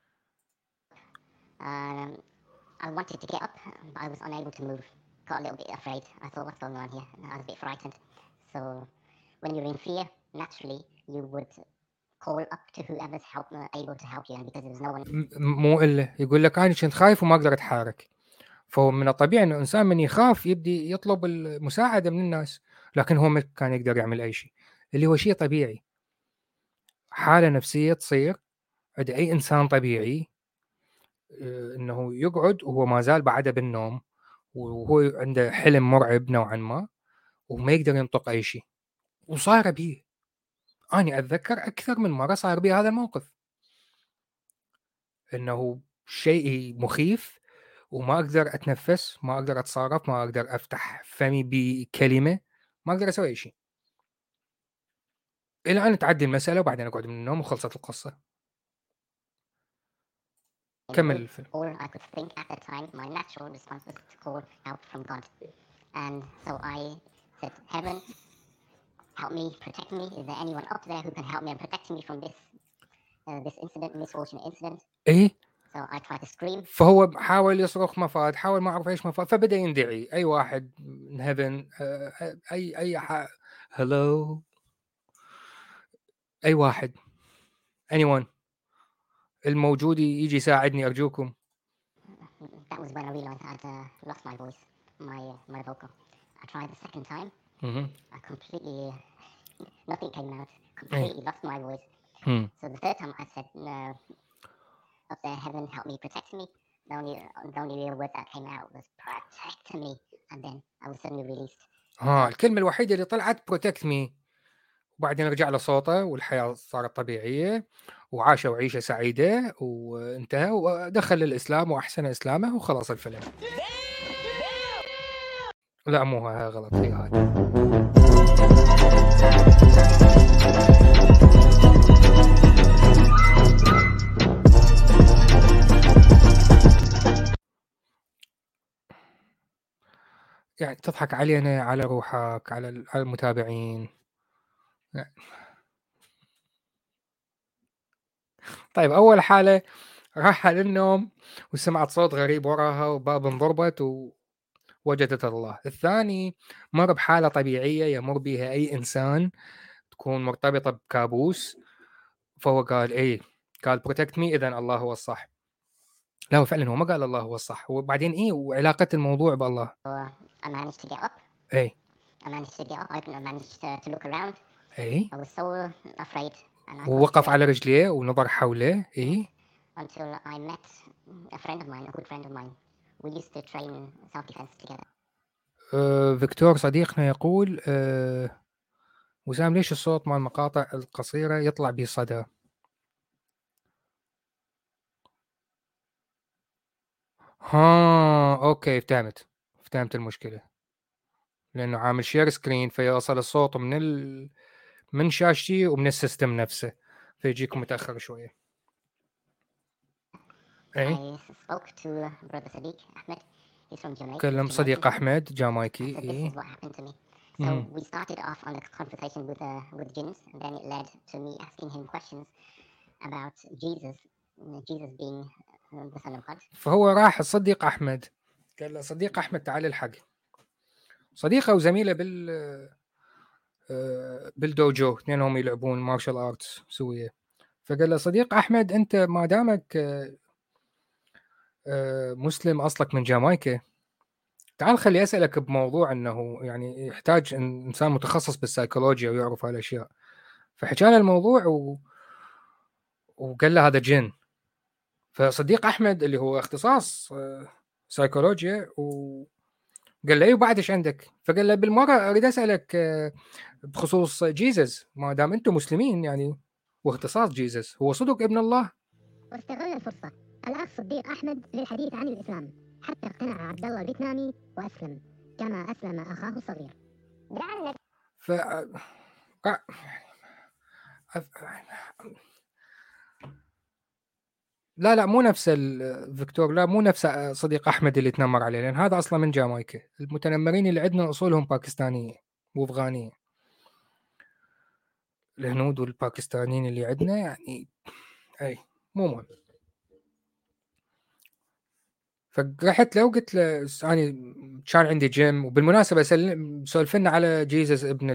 I wanted to get up, but I was unable to move. Got a little bit afraid. I thought, what's going on here? And I was a bit frightened. So when you're in fear, naturally you would call up to whoever's able to help you, and because there was no one. مو إلا يقول لك أنا كنت خايف وما أقدر أتحرك، فهو من الطبيعي إنه الإنسان من يخاف يبدي يطلب المساعدة من الناس، لكن هو ما كان يقدر يعمل أي شيء، اللي هو شيء طبيعي، حالة نفسية تصير عند أي إنسان طبيعي، إنه يقعد وهو ما زال بعده بالنوم وهو عنده حلم مرعب نوعا ما وما يقدر ينطق أي شيء، وصار بيه. أنا أتذكر أكثر من مرة صار بي هذا الموقف، إنه شيء مخيف وما أقدر أتنفس، ما أقدر أتصرف، ما أقدر أفتح فمي بكلمة، ما أقدر أسوي أي شيء، إلى أن تعدي المسألة وبعدين أقعد من النوم وخلصت القصة. كمل الفيلم. All I could think at the time, my natural response was to call out from God, and so I said, "Heaven, help me, protect me. Is there anyone up there who can help me and protect me from this incident, misfortunate incident?" إيه. So I tried to scream. فهو حاول يصرخ مفاد، حاول ما أعرف إيش مفاد، فبدأ يندعي أي واحد in heaven اي hello اي واحد anyone الموجود يجي يساعدني ارجوكم. That was when I realized I'd lost my voice, my vocal. I tried the second time. I completely nothing came out. Completely lost my voice. So the third time I said, "Up there, heaven, help me, protect me." The only real word that came out was "protect me," and then I was suddenly released. الكلمة الوحيدة اللي طلعت protect me، وبعدين رجع له صوته والحياة صارت طبيعية وعاشوا عيشة سعيدة وانتهى ودخل الإسلام وأحسن إسلامه وخلص الفيلم. لا مو هاي غلط، هي هاي. يعني تضحك علينا، على روحك، على المتابعين. طيب أول حالة راح للنوم وسمعت صوت غريب وراها وباب انضربت ووجدت الله. الثاني مر بحالة طبيعية يمر بها أي إنسان تكون مرتبطة بكابوس، فهو قال إيه، قال protect me، إذن الله هو الصح. لا هو فعلا هو ما قال الله هو الصح، وبعدين إيه وعلاقة الموضوع بالله؟ I managed to get up. إيه. I managed to get up. I managed to look around. إيه. I was so afraid. ووقف على رجليه ونظر حوله. إيه. Until I met a friend of mine, a good friend of mine. We used to train self-defense together. فيكتور صديقنا يقول وسام ليش الصوت مع المقاطع القصيرة يطلع بصدى؟ اوكي فهمت المشكلة، لأنه عامل شير سكرين فيوصل الصوت من شاشتي ومن السيستم نفسه فيجيكم متأخر شوية. I spoke to brother Sadiq Ahmed. He's from Jamaica. كلم صديق أحمد جامايكي. This is what happened to me. So we started off on a conversation with jinns, and then it led to me asking him questions about Jesus being the son of God. فهو راح الصديق أحمد قال له صديق أحمد تعال الحق، صديقه وزميله بالدوجو، اثنينهم يلعبون مارشال آرتس سوية. فقال له صديق أحمد أنت ما دامك مسلم أصلك من جامايكا، تعال خلي أسألك بموضوع أنه يعني يحتاج إنسان متخصص بالسايكولوجيا ويعرف هالأشياء. فحكى له الموضوع وقال له هذا جن. فصديق أحمد اللي هو اختصاص سايكولوجيا وقال له وبعد إيش عندك؟ فقال له بالمرة أريد أسألك بخصوص جيزس، ما دام أنتم مسلمين يعني واختصاص جيزس هو صدق ابن الله. واستغل الفرصة الأخ صديق أحمد للحديث عن الإسلام حتى اقتنع عبد الله الفيتنامي وأسلم كما أسلم أخاه الصغير. لا مو نفس فيكتور، لا مو نفس صديق أحمد اللي تنمر عليه، لأن هذا أصلا من جامايكا. المتنمرين اللي عندنا أصولهم باكستانية وأفغانية. الهنود والباكستانيين اللي عندنا يعني أي مو مهم. فرحت له وقلت له يعني كان عندي جيم، وبالمناسبة سولفنا على جيزس ابن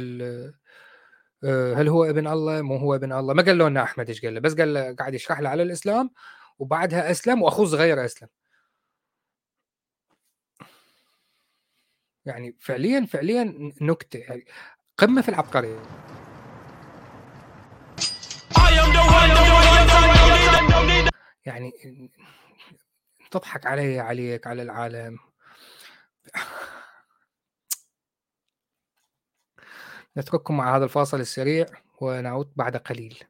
هل هو ابن الله مو هو ابن الله. ما قال له لنا أحمد إيش قال له، بس قال له قاعد يشرح له على الإسلام وبعدها أسلم وأخوه صغير أسلم. يعني فعليا نكتة يعني قمة في العبقرية. يعني تضحك عليك على العالم. نترككم مع هذا الفاصل السريع ونعود بعد قليل.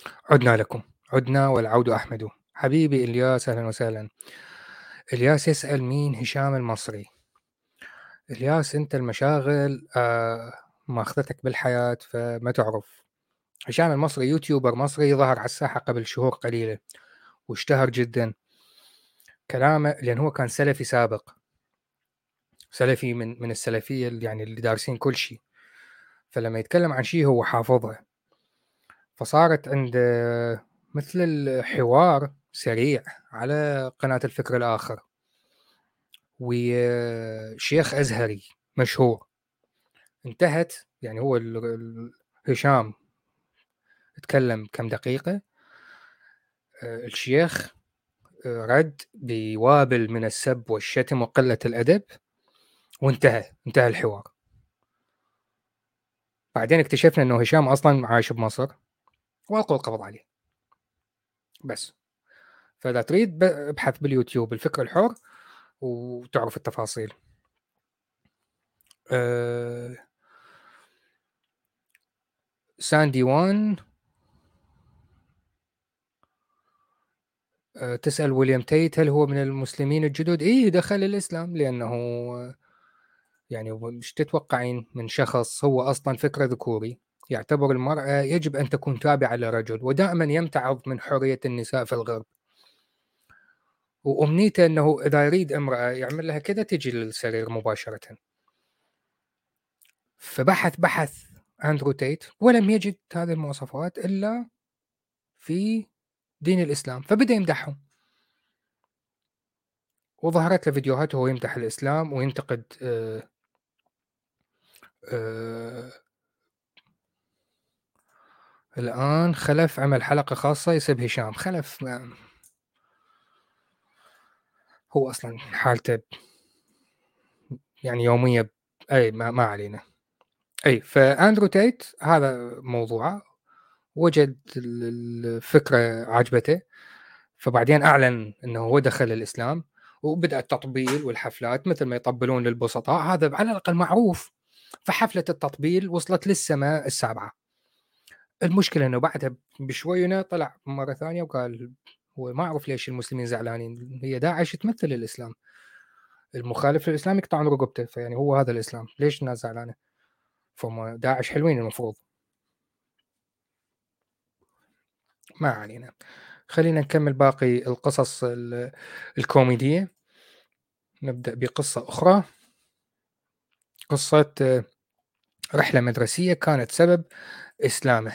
عدنا لكم، عدنا والعود أحمد. حبيبي إلياس، أهلا وسهلا. إلياس يسأل مين هشام المصري. إلياس أنت المشاغل ماخذتك بالحياة فما تعرف. هشام المصري يوتيوبر مصري ظهر على الساحة قبل شهور قليلة واشتهر جدا كلامه، لأن هو كان سلفي سابق، سلفي من السلفية اللي دارسين كل شيء، فلما يتكلم عن شيء هو حافظه. فصارت عند مثل الحوار سريع على قناة الفكر الآخر، وشيخ أزهري مشهور انتهت، يعني هو هشام تكلم كم دقيقة، الشيخ رد بوابل من السب والشتم وقلة الأدب، وانتهى الحوار. بعدين اكتشفنا أنه هشام أصلا عايش بمصر وألقوا القبض عليه بس. فإذا تريد ابحث باليوتيوب الفكر الحر وتعرف التفاصيل. ساندي وان تسأل ويليام تيت هل هو من المسلمين الجدد؟ إيه، دخل الإسلام لأنه يعني مش تتوقعين من شخص هو أصلا فكرة ذكوري يعتبر المرأة يجب أن تكون تابعة لرجل، ودائما يمتعض من حرية النساء في الغرب، وأمنيته أنه إذا يريد امرأة يعمل لها كذا تجي للسرير مباشرة. فبحث أندرو تيت ولم يجد هذه المواصفات إلا في دين الإسلام، فبدأ يمدحهم، وظهرت له فيديوهات وهو يمدح الإسلام وينتقد الآن خلف عمل حلقة خاصة يسب هشام. خلف هو أصلا حالته يعني يومية، أي ما علينا. أي فأندرو تيت هذا موضوعه، وجد الفكرة عجبته، فبعدين أعلن أنه هو دخل الإسلام، وبدأ التطبيل والحفلات مثل ما يطبلون للبسطاء، هذا على الأقل معروف. فحفلة التطبيل وصلت للسماء السابعة. المشكلة أنه بعدها بشوية طلع مرة ثانية وقال هو ما أعرف ليش المسلمين زعلانين، هي داعش تمثل الإسلام، المخالف للإسلام يقطعون رقبته، فيعني هو هذا الإسلام، ليش الناس زعلانة؟ فهم داعش حلوين المفروض. ما علينا، خلينا نكمل باقي القصص الكوميدية. نبدأ بقصة أخرى، قصة رحلة مدرسية كانت سبب إسلامه.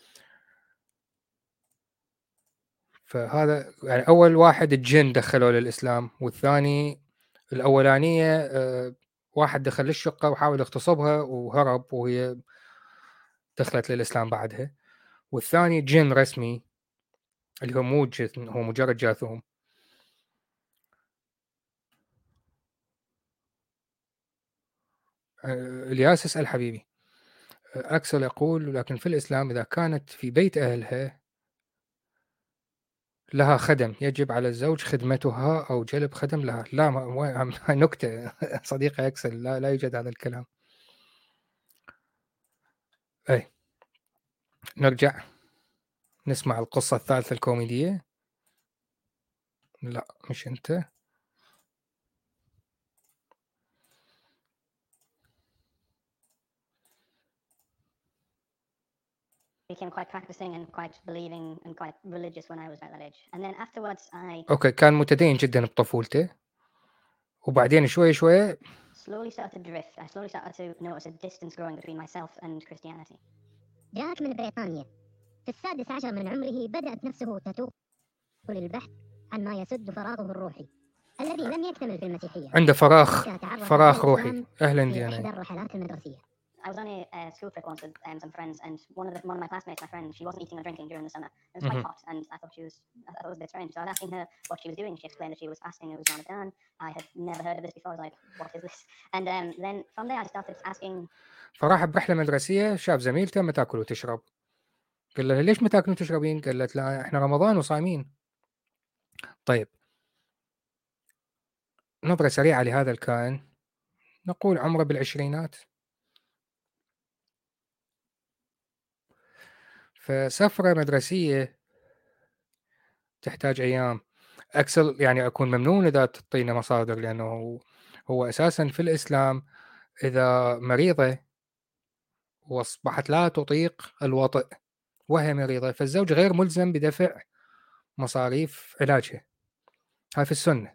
فهذا يعني أول واحد الجن دخلوا للإسلام، والثاني الأولانية واحد دخل للشقة وحاول يغتصبها وهرب وهي دخلت للإسلام بعدها، والثاني جن رسمي اللي هو مو جن، هو مجرد جاثوم. الياس اسأل حبيبي. أكسل يقول لكن في الإسلام إذا كانت في بيت أهلها لها خدم يجب على الزوج خدمتها أو جلب خدم لها. لا نكتة صديقي أكسل، لا يوجد هذا الكلام. أي نرجع نسمع القصة الثالثة الكوميدية. لا مش أنت. became quite practicing and quite believing and quite religious when I was at that age. And then afterwards أوكي، كان متدين جدا بطفولته، وبعدين شوي slowly started to drift. I slowly started to notice a distance growing between myself and Christianity. جاءت من بريطانيا في 16 من عمره، بدأت نفسه تتوق للبحث عن ما يسد فراغه الروحي الذي لم يكتمل في المسيحية. عنده فراغ روحي. أهلا في إحدى ديانا. الرحلات المدرسية. I was on a school trip once with some friends, and one of my classmates, my friend, she wasn't eating or drinking during the summer. It was quite hot, and I thought it was a bit strange. So I was asking her what she was doing. She explained that she was fasting. It was Ramadan. I had never heard of this before. I was like, what is this? And then from there I started asking. فراح برحلة مدرسية، شاف زميلته ما تاكل وتشرب، قال لها ليش ما تاكلين وتشربين؟ قالت لا احنا رمضان وصايمين. طيب، نظرة سريعة لهذا الكائن، نقول عمره بالعشرينات. فسفرة مدرسية تحتاج أيام. أكسل يعني أكون ممنون إذا تعطينا مصادر، لأنه هو أساسا في الإسلام إذا مريضة وأصبحت لا تطيق الوطئ وهي مريضة، فالزوج غير ملزم بدفع مصاريف علاجها، هاي في السنة.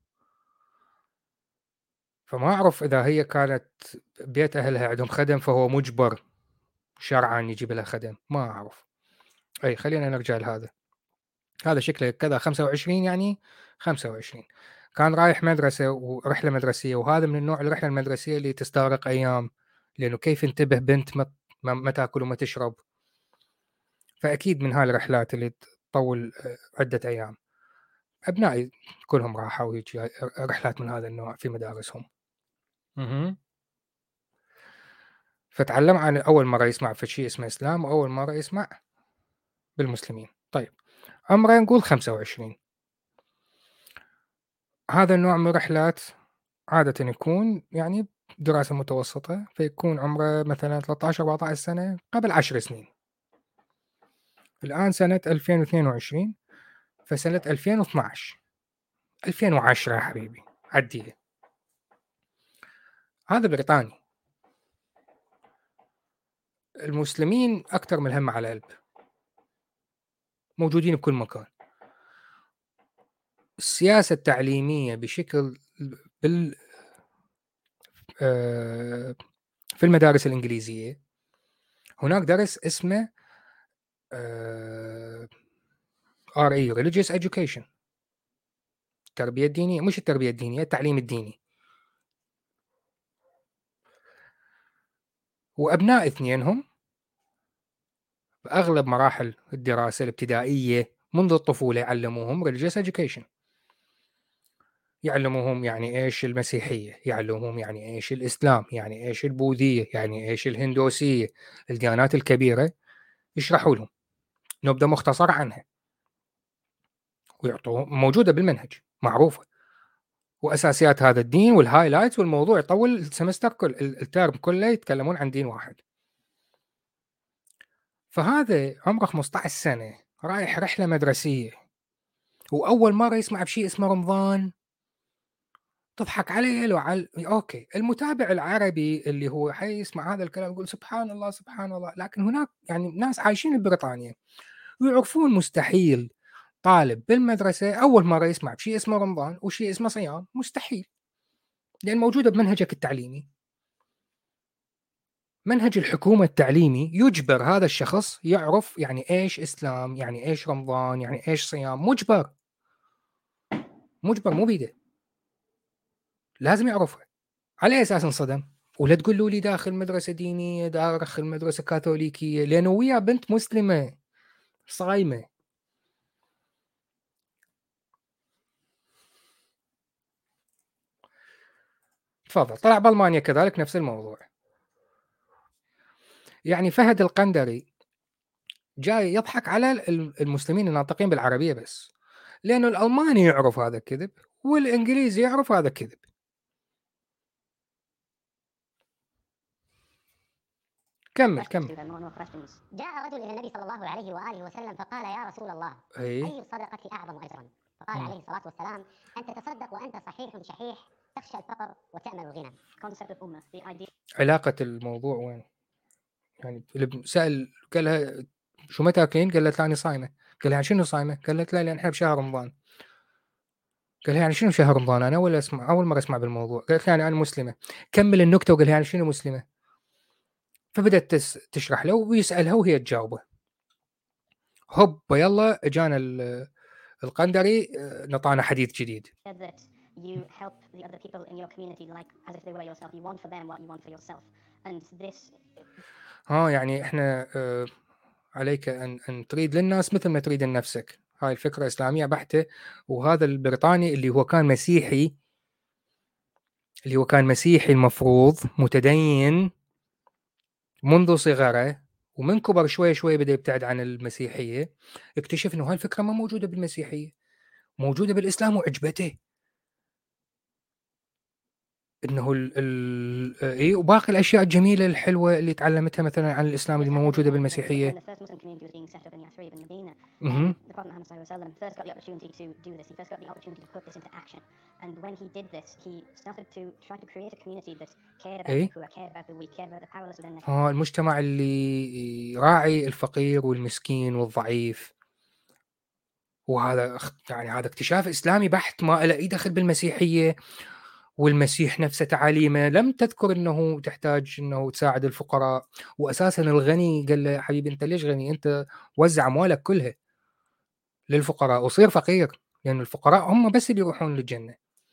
فما أعرف إذا هي كانت بيت أهلها عندهم خدم فهو مجبر شرعا يجيب لها خدم، ما أعرف. أي خلينا نرجع لهذا. هذا شكله كذا 25 يعني 25 كان رايح مدرسة ورحلة مدرسية، وهذا من النوع الرحلة المدرسية اللي تستغرق أيام، لأنه كيف انتبه بنت ما تاكل وما تشرب، فأكيد من هاي الرحلات اللي تطول عدة أيام. أبنائي كلهم راحوا ويجي رحلات من هذا النوع في مدارسهم. فتعلم عن أول مرة يسمع في شيء اسمه إسلام، وأول مرة يسمع بالمسلمين. طيب عمره نقول 25. هذا النوع من الرحلات عادة يكون يعني دراسة متوسطة، فيكون عمره مثلا 13-14 سنة قبل 10 سنين. الآن سنة 2022، فسنة 2012 2010 يا حبيبي عديها. هذا بريطاني. المسلمين أكثر من الهم على القلب، موجودين بكل مكان. السياسة التعليمية بشكل في المدارس الإنجليزية هناك درس اسمه RE Religious Education، التربية الدينية، مش التربية الدينية، التعليم الديني. وأبناء اثنينهم بأغلب مراحل الدراسة الابتدائية منذ الطفولة يعلموهم Religious Education، يعلموهم يعني إيش المسيحية، يعلموهم يعني إيش الإسلام، يعني إيش البوذية، يعني إيش الهندوسية، الديانات الكبيرة يشرحوا لهم نبذة مختصرة عنها، ويعطوهم موجودة بالمنهج معروفة، وأساسيات هذا الدين والهايلايتس، والموضوع يطول السمستر كل الترم كله يتكلمون عن دين واحد. فهذا عمره 15 سنة رايح رحلة مدرسية، وأول مرة يسمع بشيء اسمه رمضان. تضحك عليه لو أوكي، المتابع العربي اللي هو حيسمع هذا الكلام يقول سبحان الله سبحان الله، لكن هناك يعني ناس عايشين ببريطانيا ويعرفون مستحيل طالب بالمدرسة أول مرة يسمع بشيء اسمه رمضان وشيء اسمه صيام، مستحيل، لأن موجودة بمنهجك التعليمي. منهج الحكومة التعليمي يجبر هذا الشخص يعرف يعني إيش إسلام، يعني إيش رمضان، يعني إيش صيام، مجبر مو بيده، لازم يعرفها. على أساس انصدم، ولا تقول لي داخل مدرسة دينية، داخل مدرسة كاثوليكية، لأنه ويا بنت مسلمة صايمة. تفضل. طلع بألمانيا كذلك نفس الموضوع. يعني فهد القندري جاي يضحك على المسلمين الناطقين بالعربية بس، لأنه الألماني يعرف هذا كذب والإنجليزي يعرف هذا كذب. كمل. جاء رجل إلى النبي صلى الله عليه وآله وسلم فقال يا رسول الله أي الصدقة أعظم أجرا؟ فقال عليه الصلاة والسلام أن تتصدق وأنت صحيح شحيح تخشى الفقر وتأمل الغنى. علاقة الموضوع وين؟ يعني اللي سأل قال لها شو ما تاكلين؟ قالت لا أنا صايمة. قال لها شنو صايمة؟ قالت لا لأن إحنا بشهر رمضان. قال لها يعني شنو شهر رمضان؟ أنا أول مرة أسمع بالموضوع. قالت يعني أنا مسلمة. كمل النكتة وقال لها يعني شنو مسلمة؟ فبدأت تشرح له ويسألها وهي تجاوبه. هوب يلا اجانا القندري نطانا حديث جديد. You help the other people in your community like as if they were yourself. You want for them what you want for yourself. And this يعني احنا عليك ان تريد للناس مثل ما تريد لنفسك. هاي الفكرة إسلامية بحتة. وهذا البريطاني اللي هو كان مسيحي المفروض متدين منذ صغره، ومن كبر شوي بدأ يبتعد عن المسيحية، اكتشف انه هاي الفكرة ما موجودة بالمسيحية، موجودة بالإسلام وعجبته. انه اي وباقي الاشياء الجميله الحلوه اللي تعلمتها مثلا عن الاسلام اللي موجوده بالمسيحيه. When the first Muslim community was being set up in Yathrib in Medina, مهم. the Prophet Muhammad sallallahu alaihi wasallam first got the opportunity to do this. He first got the opportunity to put this into action. And when he did this, he started to try to create a community that cared about إيه؟ the poor, cared about the weak, cared about the powerless within their المجتمع اللي يراعي الفقير والمسكين والضعيف. وهذا يعني هذا اكتشاف إسلامي بحت، ما له أي دخل بالمسيحية. والمسيح نفسه تعاليمه لم تذكر أنه تحتاج أنه تساعد الفقراء. وأساسا الغني قال له حبيبي أنت ليش غني؟ أنت وزع أموالك كلها للفقراء وصير فقير، لأن الفقراء هم بس اللي يروحون للجنة.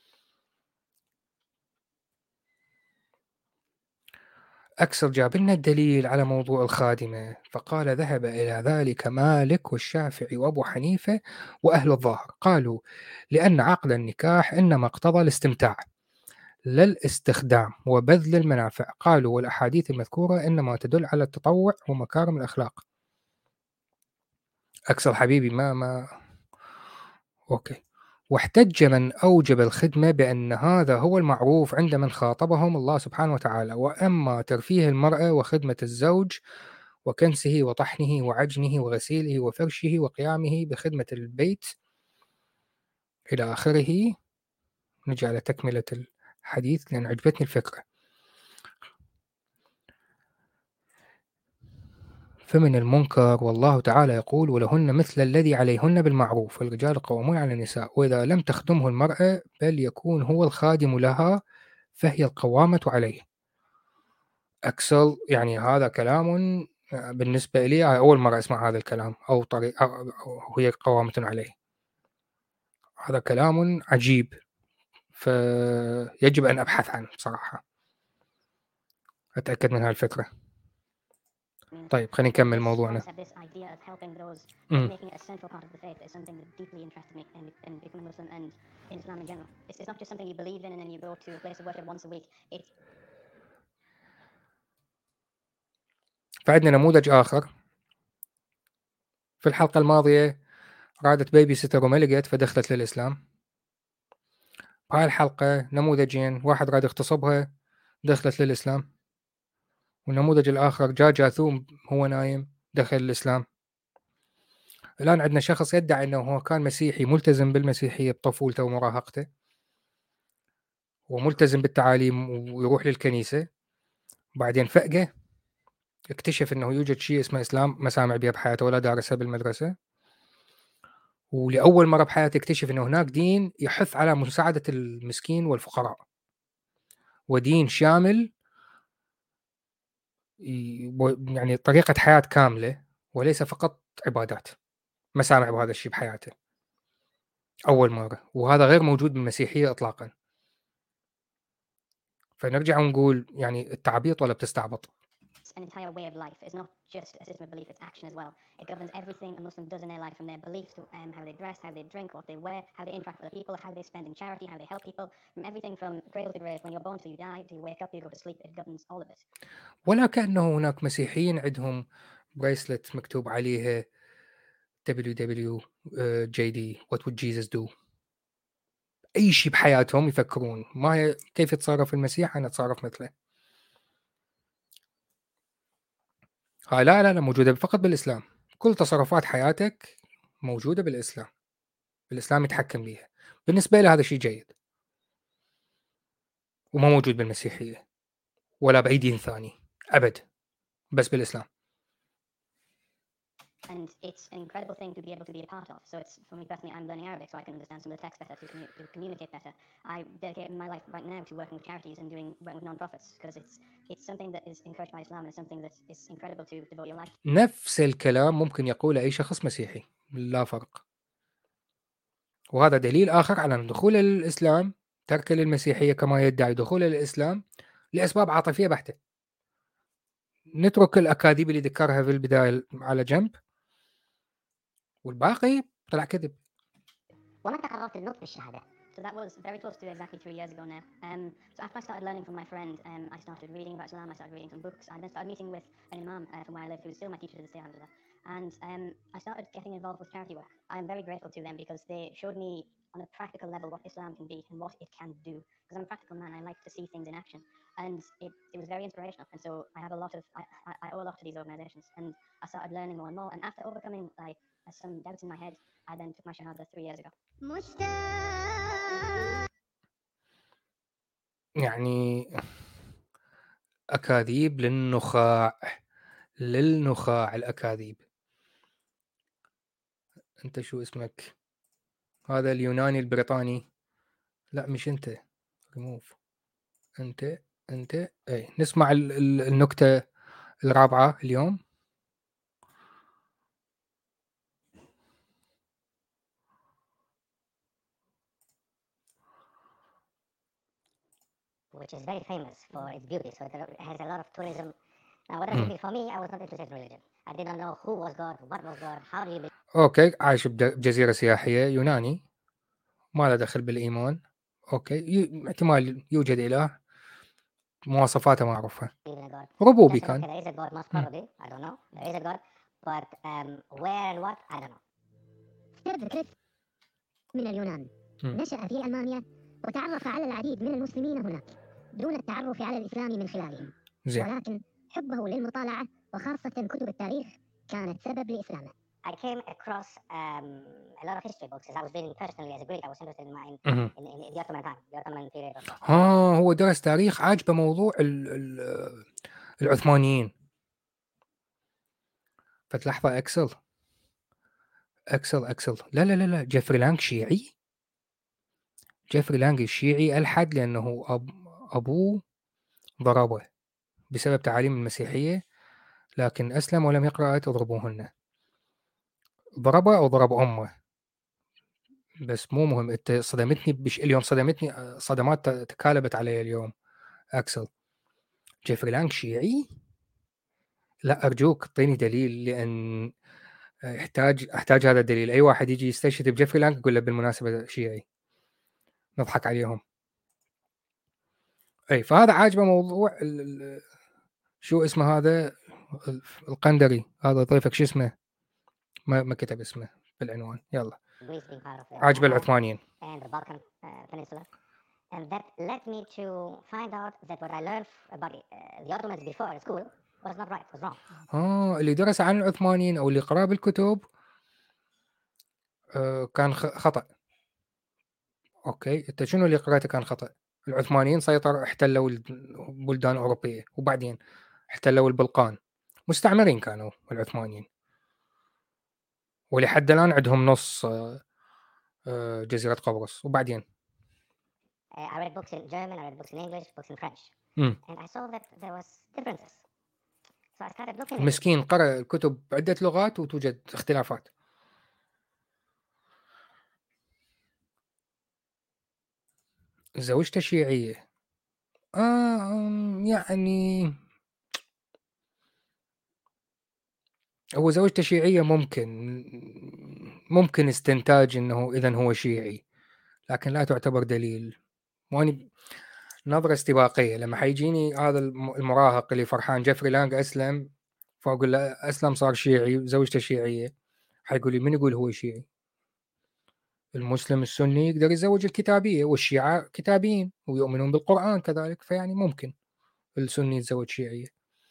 أكثر جاب لنا الدليل على موضوع الخادمة، فقال ذهب إلى ذلك مالك والشافعي وأبو حنيفة وأهل الظاهر، قالوا لأن عقد النكاح إنما اقتضى الاستمتاع لا الاستخدام وبذل المنافع. قالوا والأحاديث المذكورة إنما تدل على التطوع ومكارم الأخلاق. أكثر حبيبي ما أوكي. واحتج من أوجب الخدمة بأن هذا هو المعروف عند من خاطبهم الله سبحانه وتعالى. وأما ترفيه المرأة وخدمة الزوج وكنسه وطحنه وعجنه وغسيله وفرشه وقيامه بخدمة البيت إلى آخره. نجي على تكملة الحديث لأن عجبتني الفكرة. فمن المنكر والله تعالى يقول ولهن مثل الذي عليهن بالمعروف والرجال قوامون على النساء. وإذا لم تخدمه المرأة بل يكون هو الخادم لها فهي القوامة عليه. أكسل يعني هذا كلام بالنسبة لي أول مرة أسمع هذا الكلام أو طريقة أو هي قوامة عليه. هذا كلام عجيب، فيجب أن أبحث عنه بصراحة أتأكد من هالفكرة. طيب خلينا نكمل موضوعنا. فعندنا نموذج آخر. في الحلقة الماضية رادت بيبي ستر وما لقيت فدخلت للإسلام. بهاي الحلقة نموذجين، واحد راد يغتصبها دخلت للإسلام، والنموذج الآخر جاء جاثوم هو نايم دخل الإسلام. الآن عندنا شخص يدعي أنه هو كان مسيحي ملتزم بالمسيحية بطفولته ومراهقته وملتزم بالتعاليم ويروح للكنيسة، بعدين فجأة اكتشف أنه يوجد شيء اسمه إسلام ما سامع بيه بحياته ولا دارسه بالمدرسة، ولأول مرة بحياته اكتشف أنه هناك دين يحث على مساعدة المسكين والفقراء، ودين شامل يعني طريقة حياة كاملة وليس فقط عبادات. ما سامع بهذا الشيء بحياته أول مرة، وهذا غير موجود بالمسيحية إطلاقا. فنرجع ونقول يعني التعبيط ولا بتستعبط. An entire way of life. It's not just a system of belief, it's action as well. It governs everything a Muslim does in their life, from their beliefs to how they dress, how they drink, what they wear, how they interact with other people, how they spend in charity, how they help people, from everything from cradle to grave. When you're born till you die, till you wake up, till you go to sleep, it governs all of it. ولا كأنه هناك مسيحيين عندهم بريسلت مكتوب عليها WWJD What would Jesus do. أي شيء بحياتهم يفكرون ما كيف يتصرف المسيح أنا أتصرف مثله. لا موجودة فقط بالإسلام. كل تصرفات حياتك موجودة بالإسلام. الإسلام يتحكم بيها. بالنسبة لي هذا شيء جيد وما موجود بالمسيحية ولا بأي دين ثاني أبد، بس بالإسلام. And it's an incredible thing to be able to be a part of. So it's, for me personally, I'm learning Arabic so I can understand some of the text better, to communicate better. I dedicate my life right now to working with charities and working with non-profits because it's something that is encouraged by Islam and it's something that is incredible to devote your life. نفس الكلام ممكن يقوله أي شخص مسيحي لا فرق. وهذا دليل آخر على دخول الإسلام، ترك للمسيحية كما يدعي دخول الإسلام لأسباب عاطفية بحتة. نترك الأكاذيب اللي ذكرها في البداية على جنب والباقي طلع كذب. ومتى قررت النطق بالشهادة So that was very close to exactly 3 years ago now. So after I started learning from my friend, I started reading about Islam, I started reading some books, I then started meeting with an imam from where I live, who is still my teacher to this day, alhamdulillah. And I started getting involved with charity work. I'm very grateful to them because they showed me on a practical level what Islam can be and what it can do. Because I'm a practical man, I like to see things in action. And it was very inspirational. And so I have a lot of, I owe a lot to these organizations. And I started learning more and more. And after overcoming like some doubts in my head, I then took my shahada 3 years ago. يعني أكاذيب للنخاع الأكاذيب. أنت شو اسمك؟ هذا اليوناني البريطاني. لا مش أنت، ريموف. أنت أي. نسمع النكتة الرابعة اليوم. which is very famous for its beauty. So it has a lot of tourism. Now, what does it mean for me? I was not interested in religion. I did not know who was God, what was God, how do you believe. أوكي، عايش بجزيرة سياحية، يوناني، ما له دخل بالإيمان. أوكي، احتمال يوجد إله، مواصفاته ما أعرفها، ربوبي كان. There is a God, most probably. I don't know. There is a God, but where and what, I don't know. افترض كريس من اليونان، نشأ في ألمانيا وتعرف على العديد من المسلمين هناك دون التعرف على الإسلام من خلالهم. ولكن حبه للمطالعة وخاصة كتب التاريخ كانت سبب لإسلامه. I came across a lot of history books as I was reading personally as a Greek. I was interested in the Ottoman time, the Ottoman period. هو درس تاريخ، عاجبه موضوع العثمانيين. فتلحظة أكسل. لا جيفري لانغ شيعي. جيفري لانغ الشيعي ألحد لأنه أبوه ضربه بسبب تعاليم المسيحية، لكن أسلم ولم يقرأ تضربوهن. ضربه أو ضرب أمه، بس مو مهم. أنت صدمتني اليوم، صدمتني صدمات تكالبت علي اليوم. أكسل جيفري لانغ شيعي؟ لا أرجوك اعطيني دليل، لأن أحتاج هذا الدليل. أي واحد يجي يستشهد بجيفري لانغ يقول له بالمناسبة شيعي، نضحك عليهم. أي، فهذا عاجبه موضوع شو اسمه هذا القندري، هذا ضيفك شو اسمه؟ ما كتب اسمه بالعنوان. يلا، عاجبه العثمانيين. And that led me to find out that what I learned about the Ottomans before at school was not right, was wrong. اللي درس عن العثمانيين أو اللي قرأ بالكتب كان خطأ. أوكي، أنت شنو اللي قرأته كان خطأ؟ العثمانيين احتلوا البلدان الأوروبية، وبعدين احتلوا البلقان. مستعمرين كانوا العثمانيين، ولحد الآن عندهم نص جزيرة قبرص. وبعدين I read books in German, I read books in English, books in French. And I saw that there was differences. So I started looking. مسكين قرأ الكتب بعدة لغات وتوجد اختلافات. زوجته شيعية. يعني هو زوجته شيعية، ممكن استنتاج انه اذا هو شيعي، لكن لا تعتبر دليل. واني نظرة استباقية لما حيجيني هذا المراهق اللي فرحان جيفري لانغ أسلم، فأقول له أسلم صار شيعي وزوجته شيعية، حيقول لي من يقول هو شيعي؟ المسلم السني يقدر يزوج الكتابية، والشيعة كتابيين ويؤمنون بالقرآن كذلك، فيعني ممكن السني يتزوج شيعية.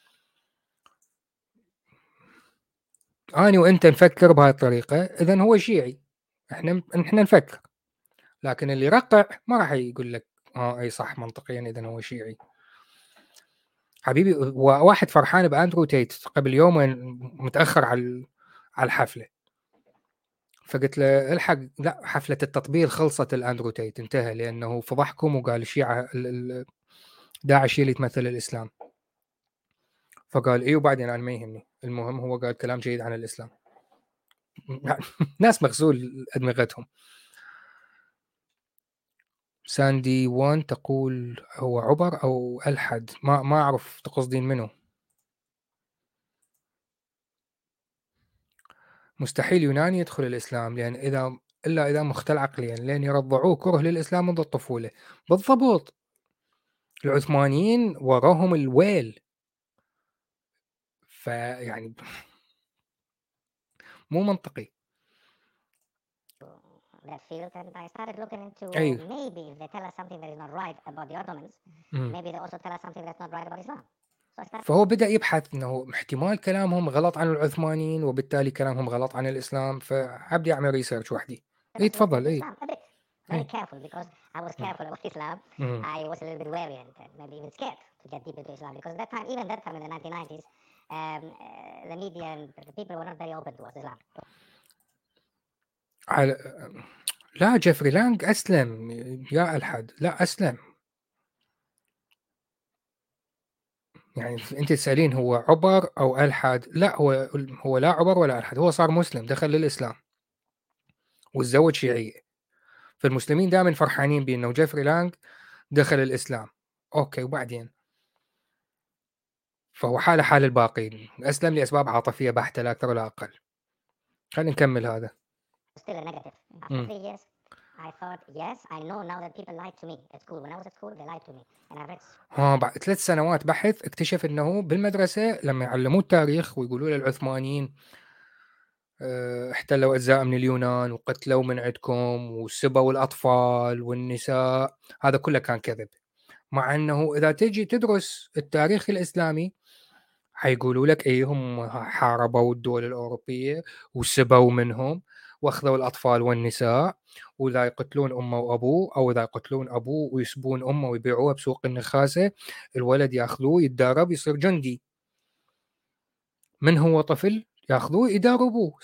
أنا وأنت نفكر بهاي الطريقة، إذن هو شيعي. إحنا نفكر، لكن اللي يرقع ما راح يقول لك أي صح منطقيا إذن هو شيعي. حبيبي، واحد فرحان بأندرو تيت قبل يومين متأخر على الحفلة، فقلت له الحق، لا حفلة التطبيل خلصت، الأندرو تيت انتهى، لأنه فضحكم وقال الشيعة داعش اللي تمثل الإسلام. فقال إيه، وبعدين أنا ما يهمني، المهم هو قال كلام جيد عن الإسلام. ناس مغسول أدمغتهم. ساندي وان تقول هو عبر أو ألحد، ما أعرف تقصدين منه. مستحيل يوناني يدخل الإسلام، لأن إذا إلا إذا مختل عقليا لأن يرضعوه كره للإسلام منذ الطفولة. بالضبط، العثمانيين وراهم الويل، فيعني مو منطقي. that field, and I started looking into أيوه. maybe if they tell us something that is not right about the Ottomans, maybe they also tell us something that's not right about Islam. So I started فهو بدأ يبحث إنه احتمال كلامهم غلط عن العثمانيين وبالتالي كلامهم غلط عن الإسلام، فحب يعمل ريسيرش وحدي. إيه to look تفضل. into إيه Islam a bit, very careful, because I was careful about Islam. I was a little bit wary and maybe even scared to get deep into Islam, because that time, even that time in the 1990s, the media and the people were not very open towards Islam. على... لا، جيفري لانغ أسلم يا ألحد، لا أسلم. يعني أنت تسألين هو عبر أو ألحد؟ لا، هو لا عبر ولا ألحد، هو صار مسلم، دخل للإسلام وتزوج شيعية. فالمسلمين دائما فرحانين بأنه جيفري لانغ دخل الإسلام. أوكي، وبعدين فهو حاله حال الباقين، أسلم لأسباب عاطفية بحتة لا أكثر ولا أقل. خلينا نكمل هذا. Still a negative. After 3 years, I thought, yes, I know now that people lied to me at school. When I was at school, they lied to me. And I read بعد 3 سنوات بحث اكتشف أنه بالمدرسة لما يعلموه التاريخ ويقولوا للعثمانيين احتلوا أجزاء من اليونان وقتلوا من عندكم وسبوا الأطفال والنساء، هذا كله كان كذب. مع أنه إذا تجي تدرس التاريخ الإسلامي حيقولوا لك إيه، هم حاربوا الدول الأوروبية وسبوا منهم واخذوا الأطفال والنساء، وإذا يقتلون أمه وأبوه أو إذا يقتلون أبوه ويسبون أمه ويبيعوها بسوق النخاسة، الولد ياخذوه يتدرب يصير جندي، من هو طفل ياخذوه يدربوه.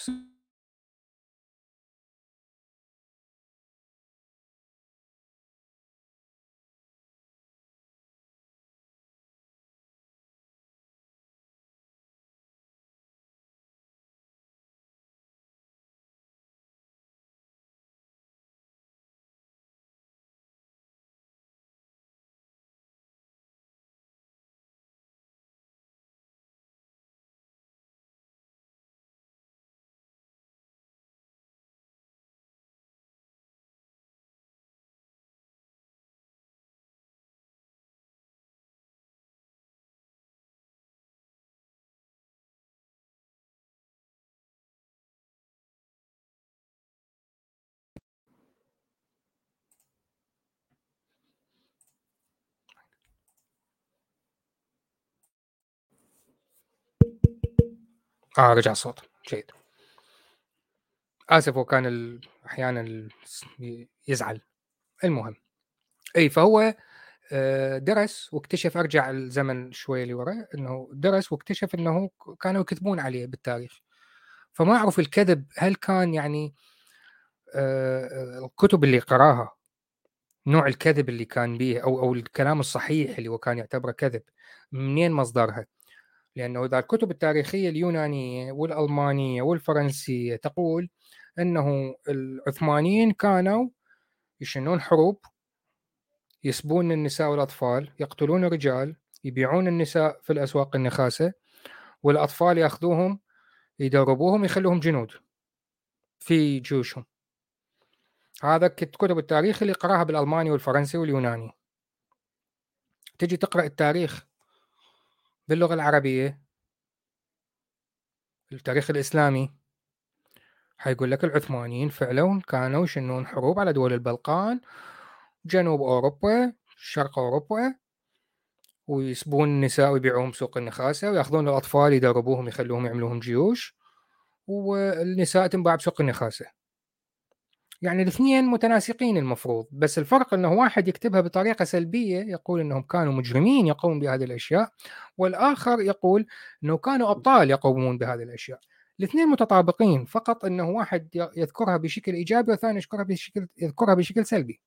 رجع الصوت جيد. آسف، وكان أحيانا يزعل. المهم، أي فهو درس واكتشف، أرجع الزمن شوي لورا، أنه درس واكتشف أنه كانوا يكذبون عليه بالتاريخ. فما أعرف الكذب هل كان يعني الكتب اللي قراها، نوع الكذب اللي كان به أو الكلام الصحيح اللي هو كان يعتبره كذب، منين مصدرها؟ لأنه إذا الكتب التاريخية اليونانية والألمانية والفرنسية تقول أنه العثمانيين كانوا يشنون حروب، يسبون النساء والأطفال، يقتلون الرجال، يبيعون النساء في الأسواق النخاسة، والأطفال يأخذوهم يدربوهم يخلوهم جنود في جيوشهم. هذا كتب التاريخ اللي قراها بالألماني والفرنسي واليوناني. تجي تقرأ التاريخ باللغة العربية، التاريخ الإسلامي، حيقول لك العثمانيين فعلا كانوا يشنون حروب على دول البلقان، جنوب أوروبا، شرق أوروبا، ويسبون النساء ويبيعوهم سوق النخاسة، ويأخذون الأطفال يدربوهم يخلوهم يعملوهم جيوش، والنساء تنباع بسوق النخاسة. يعني الاثنين متناسقين المفروض، بس الفرق أنه واحد يكتبها بطريقة سلبية يقول أنهم كانوا مجرمين يقومون بهذه الأشياء، والآخر يقول أنه كانوا أبطال يقومون بهذه الأشياء. الاثنين متطابقين، فقط أنه واحد يذكرها بشكل إيجابي والثاني يذكرها بشكل سلبي.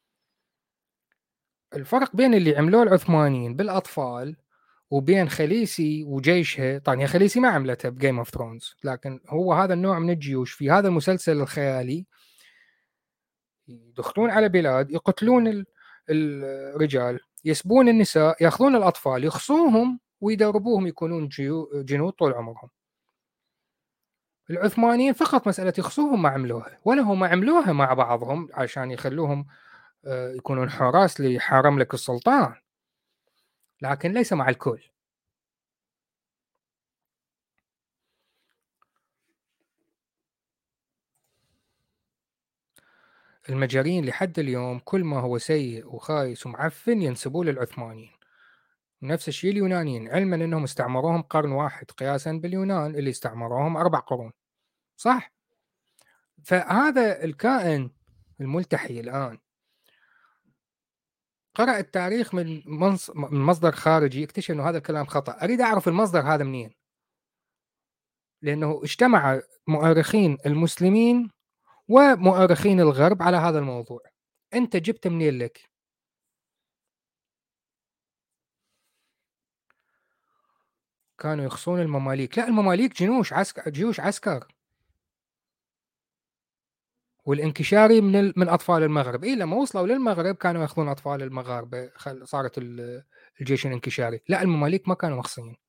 الفرق بين اللي عملوه العثمانيين بالأطفال وبين خليسي وجيشها، طبعا هي خليسي ما عملتها بجيم اوف ثرونز، لكن هو هذا النوع من الجيوش في هذا المسلسل الخيالي يدخلون على بلاد، يقتلون الرجال، يسبون النساء، ياخذون الأطفال يخصوهم ويدربوهم يكونون جنود طول عمرهم. العثمانيين فقط مسألة يخصوهم ما عملوها، ولا هم عملوها مع بعضهم عشان يخلوهم يكونون حراس لحرم لك السلطان، لكن ليس مع الكل. المجرين لحد اليوم كل ما هو سيء وخايس ومعفن ينسبوه للعثمانيين. نفس الشيء اليونانيين، علما انهم استعمروهم قرن واحد قياسا باليونان اللي استعمروهم 4 قرون، صح؟ فهذا الكائن الملتحي الآن قرأ التاريخ من مصدر خارجي، اكتشف انه هذا الكلام خطأ. اريد اعرف المصدر هذا منين، لانه اجتمع مؤرخين المسلمين ومؤرخين الغرب على هذا الموضوع. انت جبت منين لك؟ كانوا يخصون المماليك. لا، المماليك جيوش عسكر، والانكشاري من اطفال المغرب. لما وصلوا للمغرب كانوا ياخذون اطفال المغاربه، صارت الجيش الانكشاري. لا، المماليك ما كانوا مخصيين.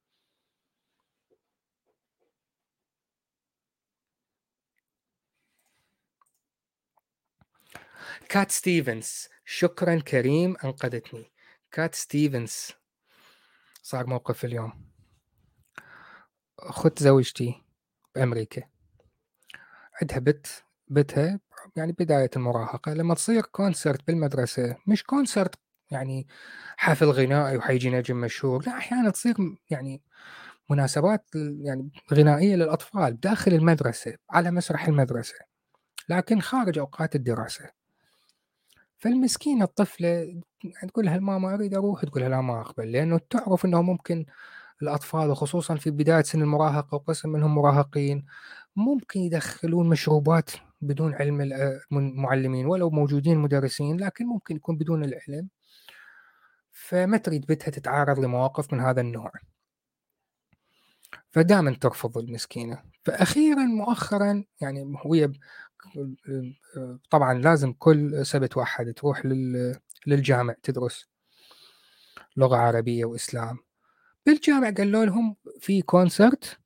كات ستيفنز، شكرا كريم، انقذتني. كات ستيفنز صار موقف اليوم. اخت زوجتي بامريكا، عندها بتها يعني بداية المراهقة، لما تصير كونسرت بالمدرسة، مش كونسرت يعني حفل غنائي وحيجي نجم مشهور، لا، أحيانا تصير يعني مناسبات يعني غنائية للأطفال داخل المدرسة على مسرح المدرسة، لكن خارج أوقات الدراسة. فالمسكينة الطفلة تقول لها الماما أريد أروح، تقول لها لا ما أقبل، لأنه تعرف أنه ممكن الأطفال وخصوصا في بداية سن المراهقة وقسم منهم مراهقين ممكن يدخلون مشروبات بدون علم المعلمين، ولو موجودين مدرسين لكن ممكن يكون بدون العلم، فما تريد بنتها تتعرض لمواقف من هذا النوع، فدائما ترفض المسكينة. فأخيرا مؤخرا يعني هي طبعا لازم كل سبت واحد تروح للجامع تدرس لغة عربية وإسلام. بالجامع قالوا لهم في كونسرت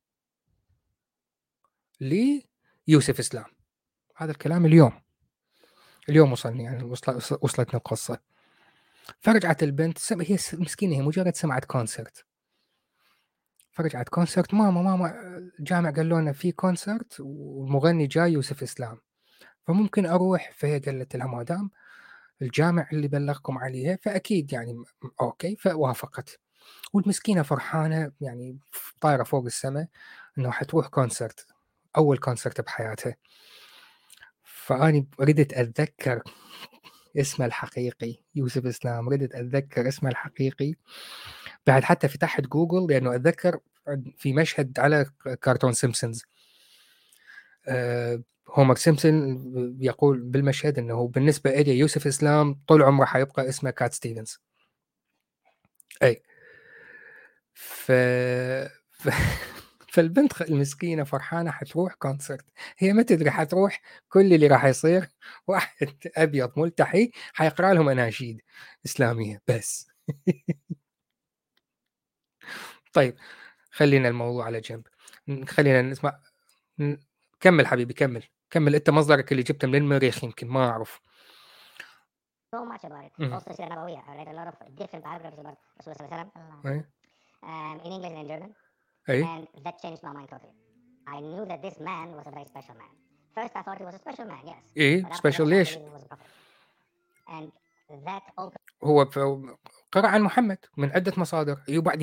ليوسف إسلام. هذا الكلام اليوم وصلني، يعني وصلتنا القصة. فرجعت البنت، هي مسكينة، هي مجرد سمعت كونسرت، فرجعت كونسرت، ماما الجامع قال لنا في كونسرت والمغني جاي يوسف إسلام، فممكن أروح. فهي قالت لها ما دام الجامع اللي بلغكم عليه فأكيد يعني أوكي، فوافقت. والمسكينة فرحانة يعني طايرة فوق السماء إنه حتروح كونسرت، أول كونسرت بحياتها. فأني ردت أتذكر اسمه الحقيقي يوسف إسلام، ردت أتذكر اسمه الحقيقي، بعد حتى فتحت جوجل لأنه أتذكر في مشهد على كرتون سيمبسونز، هومر سيمبسون يقول بالمشهد أنه بالنسبة إلي يوسف إسلام طول عمره حيبقى اسمه كات ستيفنز. أي فالبنت المسكينة فرحانة حتروح كونسرت، هي ما تدري حتروح كل اللي راح يصير واحد أبيض ملتحي حيقرأ لهم أناشيد إسلامية بس. طيب خلينا الموضوع على جنب، خلينا نسمع. كمل حبيبي، كمل أنت مصدرك اللي جبته من المريخ، يمكن ما أعرف. So much about it. Also, Sirah Nabawiyya. I read a lot of different biographies about Rasulullah in English and in German. And that changed my mind totally. I knew that this man was a very special man. First, I thought he was a special man, yes. special ليش؟ And that opened. هو قرأ عن محمد من عدة مصادر.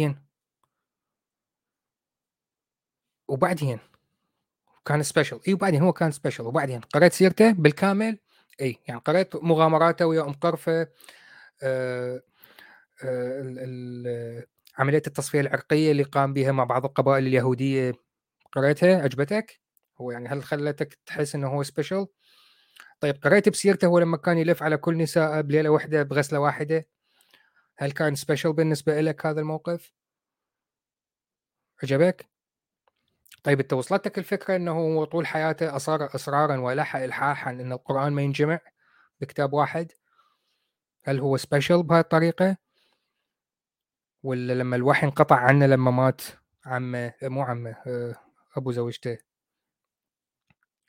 وبعدين كان سبيشل. وبعدين هو كان سبيشل، وبعدين قرأت سيرته بالكامل. يعني قرأت مغامراته ويا أم قرفة، عملية التصفية العرقية اللي قام بها مع بعض القبائل اليهودية، قرأتها عجبتك؟ هو يعني هل خلتك تحس انه هو سبيشل؟ طيب قرأت بسيرته هو لما كان يلف على كل نساء بليلة واحدة بغسلة واحدة، هل كان سبيشل بالنسبة لك هذا الموقف؟ عجبك؟ طيب انت وصلتك الفكرة انه هو طول حياته أصر إصرارا ولح إلحاحا ان القرآن ما ينجمع بكتاب واحد؟ هل هو سبيشل بهذه الطريقة؟ ولا لما الوحي انقطع عنه لما مات عمه، مو عمه، أبو زوجته،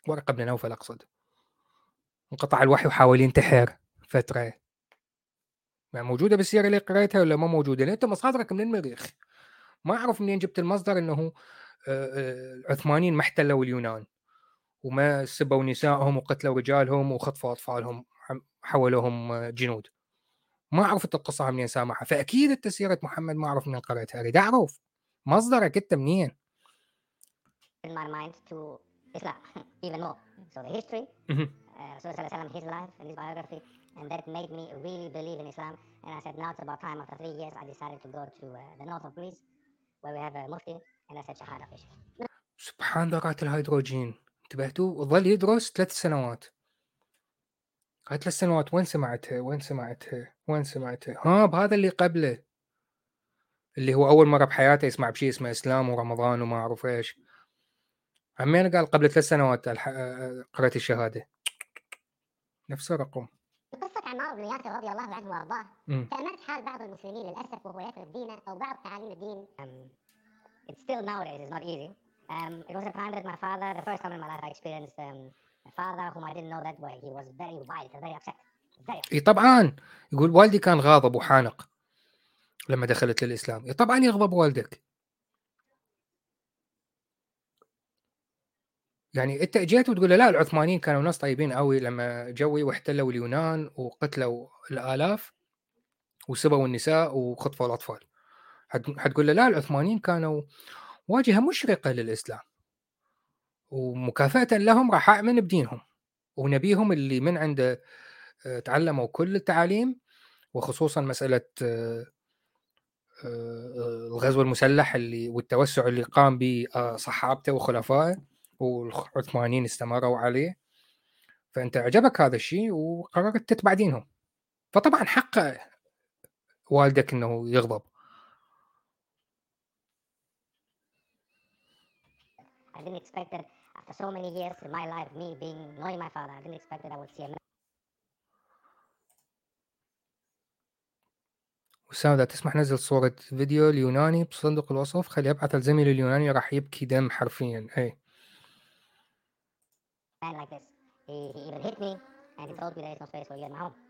ورقة بن نوفل أقصد، انقطع الوحي وحاول ينتحر فترة. يعني موجودة بالسيرة اللي قريتها ولا ما موجودة؟ لأن أنت مصادرك من المريخ، ما أعرف منين جبت المصدر إنه العثمانيين ما احتلوا اليونان وما سبوا نسائهم وقتلوا رجالهم وخطفوا أطفالهم حولوهم جنود. ما أعرف أنت القصة منين سامعها، فأكيد أنت سيرة محمد ما أعرف منين قريتها، أريد أعرف مصدرك أنت منين. in my mind to Islam even more. So the history, Rasulullah his life and his biography, and that made me really believe in Islam. And I said, now it's about time. After 3 years, I decided to go to the north of Greece, where we have a mufti, and I said, Shahada fish. سبحان ذرات الهيدروجين، انتبهتوا؟ ظل يدرس 3 سنوات. هاي 3 سنوات وين سمعتها؟ ها، بهذا اللي قبله، اللي هو أول مرة بحياته يسمع بشيء اسمه إسلام ورمضان وما أعرف إيش. عمين قال قبل 3 سنوات قرأت الشهادة. نفس الرقم. قصة عمار بن ياسر رضي الله عنه وارضاه تأملت حال بعض المسلمين للأسف وهو يترك دينه أو بعض تعاليم الدين. It's still nowadays is not easy. It was a time that my father, the first time in my life I experienced a father whom I didn't know that way. He was very wild, very upset. اي طبعا، يقول والدي كان غاضب وحانق لما دخلت للإسلام. اي طبعا يغضب والدك. يعني انت جيت وتقول له لا العثمانيين كانوا ناس طيبين قوي لما جوي واحتلوا اليونان وقتلوا الآلاف وسبوا النساء وخطفوا الأطفال. حتقول له لا العثمانيين كانوا واجهة مشرقة للإسلام، ومكافأة لهم راح أؤمن بدينهم ونبيهم اللي من عنده تعلموا كل التعاليم، وخصوصا مسألة الغزو المسلح اللي والتوسع اللي قام به صحابته وخلفائه والعثمانيين استمروا عليه. فأنت عجبك هذا الشيء وقررت تتبع دينهم، فطبعا حق والدك إنه يغضب. I didn't expect that after so many years in my life, me knowing my father, I didn't expect that I would see him. وسام إذا تسمح نزل صورة فيديو اليوناني بصندوق الوصف، خلي أبعث الزميل اليوناني راح يبكي دم حرفيا. أي Man like this, he even hit me and he told me there is no space for you at my home.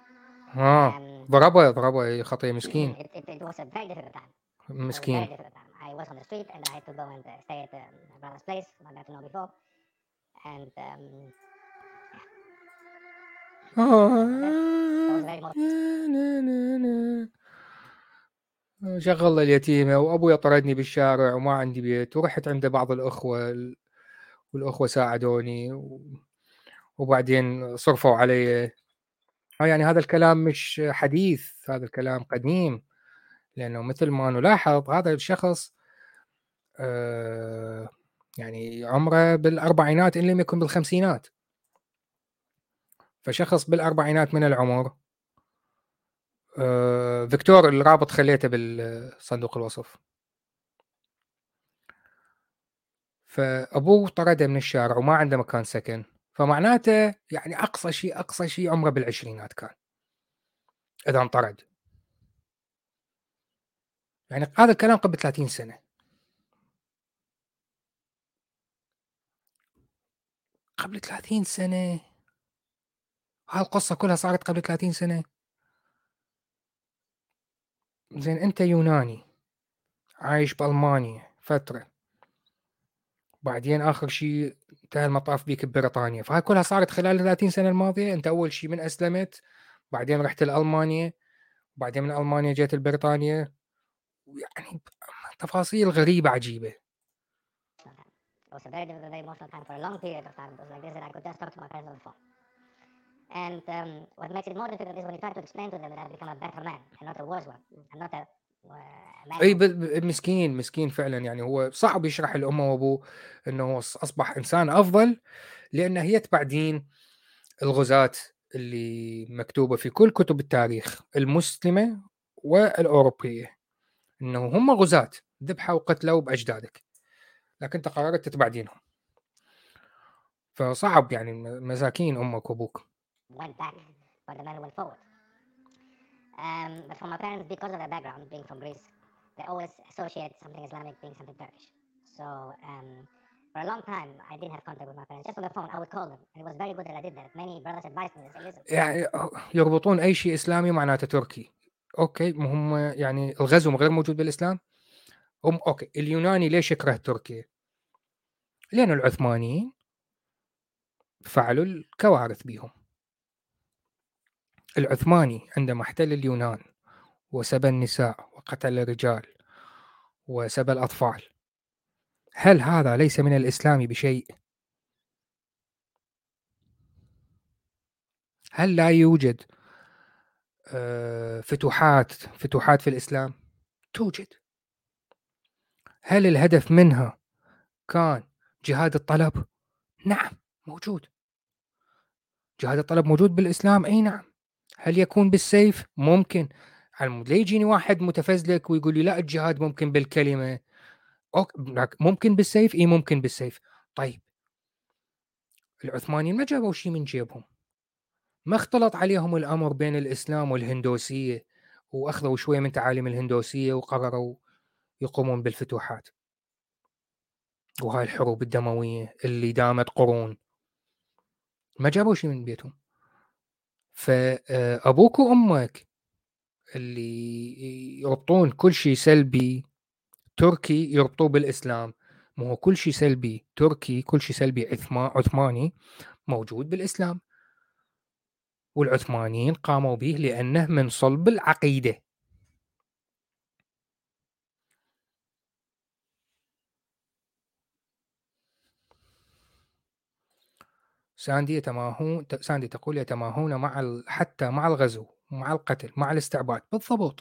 ضربه خطية مسكين. It was a very difficult time. مسكين. Very difficult time. I was on the street and I had to go and stay at my brother's place, I got to know before. And شغل اليتيمة وأبوي طردني بالشارع وما عندي بيت، ورحت عند بعض الأخوة والأخوة ساعدوني وبعدين صرفوا علي. يعني هذا الكلام مش حديث، هذا الكلام قديم، لأنه مثل ما نلاحظ هذا الشخص يعني عمره بالأربعينات إن لم يكن بالخمسينات، فشخص بالأربعينات من العمر. فيكتور الرابط خليته بالصندوق الوصف. فأبوه طرده من الشارع وما عنده مكان سكن، فمعناته يعني أقصى شيء عمره بالعشرينات كان إذا انطرد. يعني هذا الكلام قبل 30 سنة. قبل 30 سنة هالقصة كلها صارت قبل 30 سنة. زين أنت يوناني عايش بألمانيا فترة، بعدين آخر شيء انتهى المطاف بيك ببريطانيا، فهاي كلها صارت خلال 30 سنة الماضية. أنت أول شيء من أسلمت، بعدين رحت لألمانيا، بعدين من ألمانيا جيت لبريطانيا، يعني تفاصيل غريبة عجيبة. It was a very difficult, very emotional time for a long period of time. It was like this that I could just talk to my parents on the phone. And what makes it more difficult is when you try to explain to them that I've become a better man and not a worse one, and not a man. اي مسكين فعلا. يعني هو صعب يشرح لأمه وأبوه أنه أصبح إنسان أفضل لأنه يتبع دين الغزاة اللي مكتوبة في كل كتب التاريخ المسلمة والأوروبية، أنه هم غزاة ذبحوا وقتلوا بأجدادك، لكن أنت قررت تتبع دينهم. فصعب يعني، مساكين أمك وأبوك. Went back, but the man went forward. But for my parents, because of their background, being from Greece, they always associate something Islamic being something Turkish. So For a long time, I did have contact with my parents. Just on the phone, I would call them. And it was very good that I did that. Many brothers advised me. They said, listen. يعني يربطون أي شيء إسلامي معناته تركي. أوكي، هم يعني الغزو غير موجود بالإسلام. أوكي، اليوناني ليش يكره تركيا؟ لأن العثمانيين فعلوا الكوارث بهم. العثماني عندما احتل اليونان وسبى النساء وقتل الرجال وسبى الأطفال، هل هذا ليس من الإسلام بشيء؟ هل لا يوجد فتوحات في الإسلام؟ توجد. هل الهدف منها كان جهاد الطلب؟ نعم موجود. جهاد الطلب موجود بالإسلام؟ أي نعم. هل يكون بالسيف؟ ممكن. لا يجيني واحد متفزلك ويقول لي لا الجهاد ممكن بالكلمة. ممكن بالسيف؟ إيه ممكن بالسيف. طيب العثمانيين ما جابوا شيء من جيبهم، ما اختلط عليهم الأمر بين الإسلام والهندوسية وأخذوا شوية من تعاليم الهندوسية وقرروا يقومون بالفتوحات وهاي الحروب الدموية اللي دامت قرون. ما جابوا شيء من بيتهم. فأبوك وأمك اللي يربطون كل شيء سلبي تركي يربطوه بالإسلام، ما هو كل شيء سلبي تركي، كل شيء سلبي عثماني موجود بالإسلام، والعثمانيين قاموا به لأنه من صلب العقيدة. ساندي تقول يتماهون حتى مع الغزو، مع القتل، مع الاستعباد. بالضبط.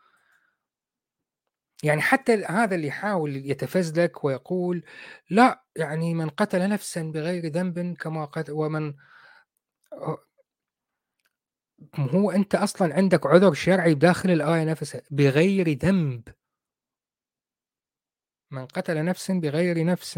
يعني حتى هذا اللي يحاول يتفزلك ويقول لا يعني من قتل نفسا بغير ذنب كما قتل ومن هو أنت أصلا عندك عذر شرعي بداخل الآية نفسها بغير ذنب. من قتل نفسا بغير نفس.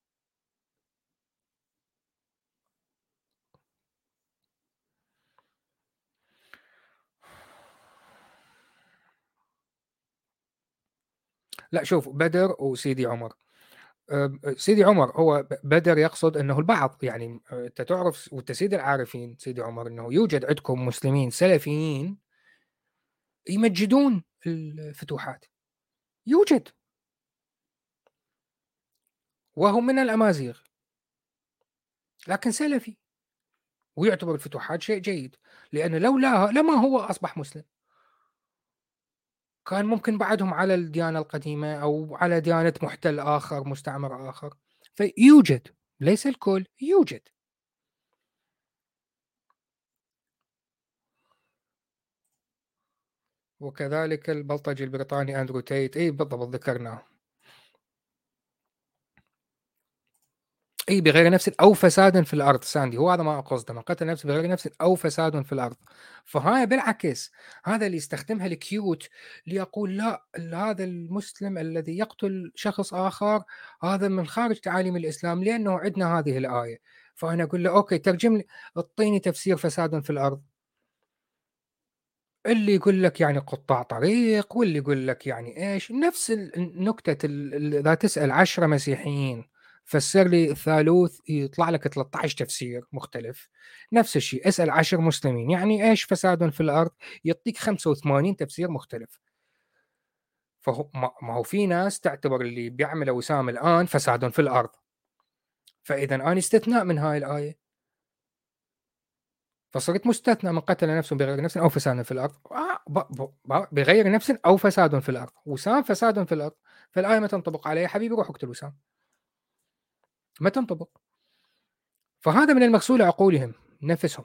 لا شوف، بدر وسيدي عمر. سيدي عمر هو بدر يقصد أنه البعض، يعني أنت تعرف والتسيد العارفين سيدي عمر أنه يوجد عندكم مسلمين سلفيين يمجدون الفتوحات، يوجد، وهو من الأمازيغ لكن سلفي ويعتبر الفتوحات شيء جيد، لأن لولاها لما هو أصبح مسلم، كان ممكن بعدهم على الديانة القديمة أو على ديانة محتل آخر مستعمر آخر. فيوجد، ليس الكل، يوجد. وكذلك البلطجي البريطاني أندرو تيت. أي بالضبط ذكرناه. أي بغير نفس أو فساد في الأرض. ساندي هو هذا ما أقصده، من قتل نفسه بغير نفس أو فساد في الأرض. فهاي بالعكس هذا اللي يستخدمها الكيوت ليقول لا هذا المسلم الذي يقتل شخص آخر هذا من خارج تعاليم الإسلام لأنه عندنا هذه الآية. فأنا أقول له أوكي ترجم لي، اعطيني تفسير فساد في الأرض. اللي يقول لك يعني قطاع طريق، واللي يقول لك يعني إيش. نفس النكتة إذا تسأل 10 مسيحيين فسر لي الثالوث يطلع لك 13 تفسير مختلف. نفس الشيء اسأل 10 مسلمين يعني إيش فساد في الأرض، يعطيك 85 تفسير مختلف. فهو ما هو في ناس تعتبر اللي بيعمله وسام الآن فساد في الأرض، فإذا أنا استثناء من هاي الآية، فصرت مستثنى من قتل نفسه بغير نفس أو فساد في الأرض. بغير نفس أو فساد في الأرض. وسام فساد في الأرض، فالآية ما تنطبق عليه. حبيبي روح اقتل وسام، ما تنطبق. فهذا من المغسول عقولهم نفسهم.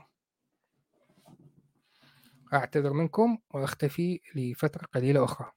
أعتذر منكم وأختفي لفترة قليلة أخرى.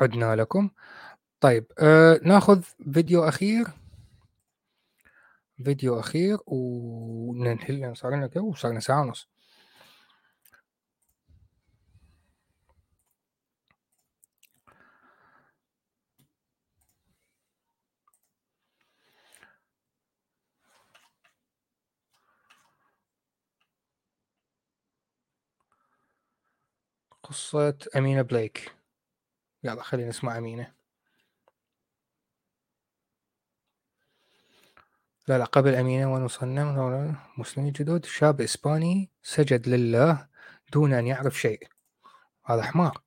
عدنا لكم. طيب ناخذ فيديو أخير وننهي لأن صار لنا كم؟ صار لنا ساعة ونص. قصة أمينة بليك. يلا خلينا نسمع أمينة. لا قبل أمينة ونصنم مسلمين جدد. شاب إسباني سجد لله دون أن يعرف شيء. هذا حمار.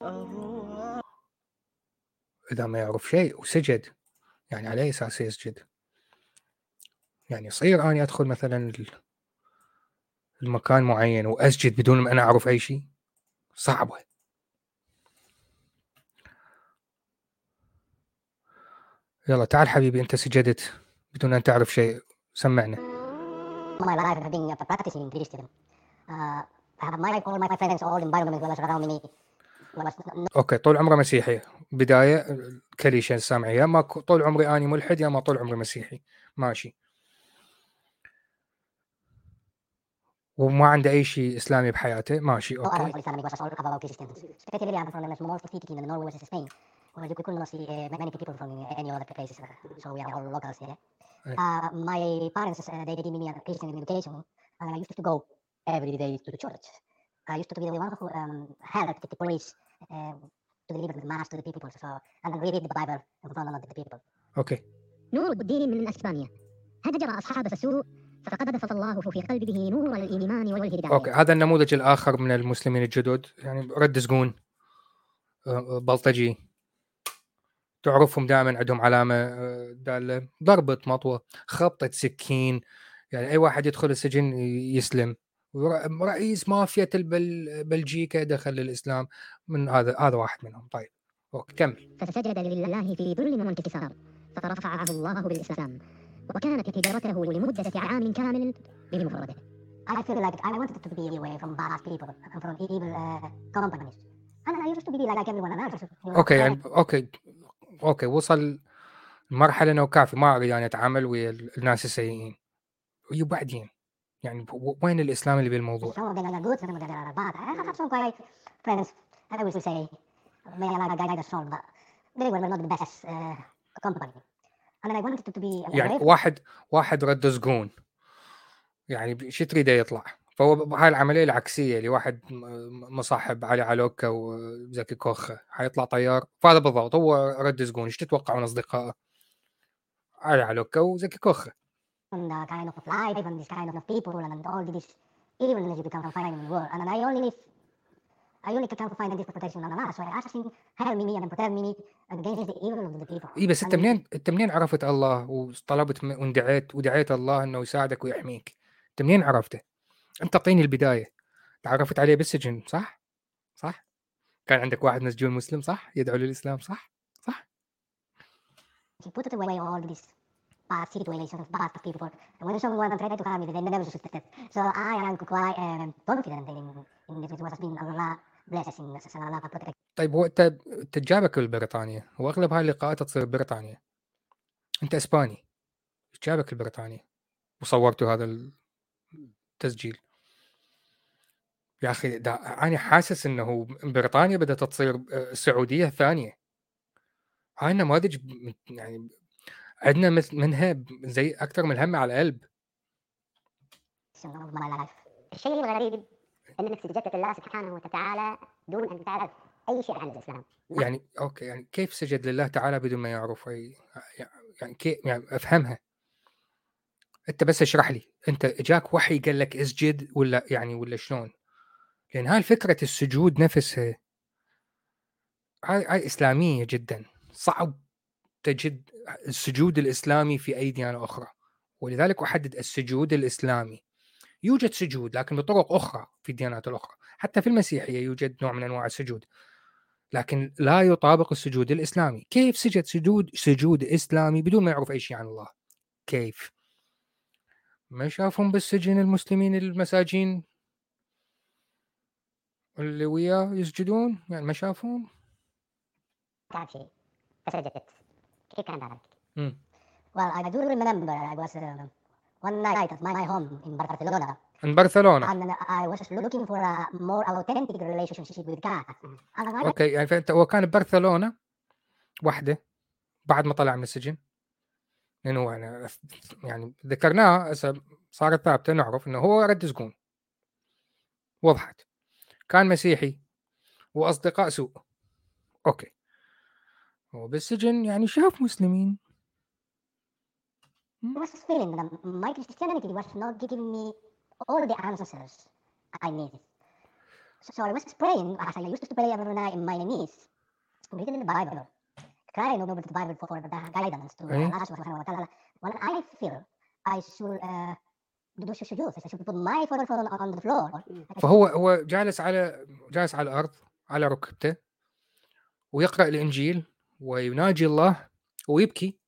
إذا ما يعرف شيء وسجد يعني على أي أساس يسجد؟ يعني يصير أنا أدخل مثلا المكان معين وأسجد بدون ما أنا أعرف أي شيء؟ صعبة. يلا تعال حبيبي، أنت سجدت بدون أن تعرف شيء، سمعنا. My life have been practicing Christian. I have all my friends, all environment was around me. أوكي، طول عمره مسيحي. بداية كليشة سامعي، يا ما طول عمري أنا ملحد يا ما طول عمري مسيحي. ماشي. وما عنده أي شيء إسلامي بحياته. ماشي أوكي. My parents they gave me a Christian education and I used to go every day to the church. I used to be the one who helped the police to deliver the mass to the people, so and we read the Bible in front of the people. أوكي. نور الدين من أسبانيا هجر أصحاب السوء فقذف الله في قلبه نور الإيمان والهداية. أوكي، هذا النموذج الآخر من المسلمين الجدد، يعني رد سجون، بلطجي، تعرفهم دائما عندهم علامة دالة، ضربة مطوة، خبطة سكين. يعني أي واحد يدخل السجن يسلم. رئيس مافيا بلجيكا دخل الإسلام، من هذا واحد منهم. طيب أوكي كمل. فسجد لله في ذل وانكسار فرفعه الله بالإسلام وكانت هجرته لمدة عام كامل بمفرده. I feel like I wanted to be away from bad people and from evil companies. And I used to be like everyone else. أوكي يعني أوكي وصل مرحلة إنه كافي، ما أريد يعني أتعامل ويا الناس السيئين. وبعدين يعني وين الإسلام اللي بالموضوع؟ Some of them are good, some of them are bad. I have some great friends, and I wish to say, may Allah guide us all, but they were not the best company. And I wanted to be يعني واحد رد سجون، يعني شو تريده يطلع؟ فهو هاي العملية العكسية اللي واحد مصاحب علي علوكا وزكي كوخة حيطلع طيار، فهذا بالضبط هو رد سجون. ايش تتوقعون أصدقائه؟ علي علوكا وزكي كوخة. And the kind of life and this kind of people and all this evilness you can find in the world. And I only can find this protection on Allah. So I asked him, help me and protect me against the evil of the people. إيه بس أنت منين عرفت الله وطلبت ودعيت الله إنه يساعدك ويحميك؟ أنت منين عرفته؟ أنت أعطيني البداية. تعرفت عليه بالسجن صح؟ كان عندك واحد مسجون مسلم صح؟ يدعو للإسلام صح؟ He put away all these bad situations, bad people. And when someone tried to harm me, they never suspected. So I am quite confident in this. It was been Allah blessings and Allah protect. طيب هو أنت جابك لبريطانيا، وأغلب هاي اللقاءات تصير ببريطانيا. أنت إسباني، جابك لبريطانيا وصورتوا هذا التسجيل. يا أخي أنا حاسس إنه بريطانيا بدأت تصير السعودية الثانية. هاي النماذج يعني عندنا منها زي أكثر من الهم على القلب. الشيء الغريب انك سجدت لله سبحانه وتعالى دون ان تعرف اي شيء عن الاسلام. يعني اوكي، يعني كيف سجد لله تعالى بدون ما يعرف اي؟ يعني كيف يعني افهمها؟ انت بس اشرح لي، انت اجاك وحي قال لك اسجد ولا شلون؟ لان هاي فكرة السجود نفسها هاي اسلامية جدا. صعب تجد السجود الاسلامي في اي ديانة اخرى، ولذلك احدد السجود الاسلامي. يوجد سجود لكن بطرق اخرى في الديانات الاخرى، حتى في المسيحية يوجد نوع من انواع السجود، لكن لا يطابق السجود الإسلامي. كيف سجد سجود إسلامي بدون ما يعرف أي شيء عن الله؟ كيف؟ ما شافهم بالسجن المسلمين المساجين اللي وياه يسجدون؟ يعني ما شافهم؟ تعب شيء فسجدت. كيف كان ذلك؟ Well, I do remember I was one night at my home in Barcelona. in Barcelona. And I was looking for a more authentic relationship with God. اوكي يعني فانت هو كان ببرشلونة وحده بعد ما طلع من السجن، لانه يعني ذكرناه صارت ثابته، نعرف انه هو رد سجون، وضحت، كان مسيحي واصدقاء سوء. اوكي هو بالسجن يعني شاف مسلمين. I was feeling that my Christianity was not giving me all the answers I needed. So I was praying, as I used to pray every night in my knees, reading the Bible, crying over the Bible for the guidance to Allah subhanahu wa ta'ala. When I feel I should do sujood, I should put my foot on the floor. فهو جالس على الأرض على ركبته ويقرأ الإنجيل ويناجي الله ويبكي،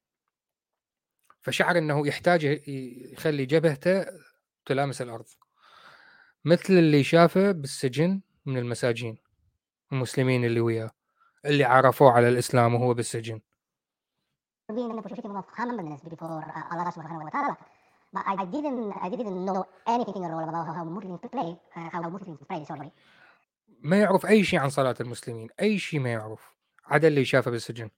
فشعر أنه يحتاج يخلي جبهته تلامس الأرض، مثل اللي شافه بالسجن من المساجين المسلمين اللي وياه اللي عرفوه على الإسلام وهو بالسجن. Being in a position of humbleness before Allah subhanahu wa ta'ala, but I didn't know anything at all about how Muslims pray, sorry. ما يعرف أي شيء عن صلاة المسلمين، أي شيء ما يعرف عدا اللي شافه بالسجن.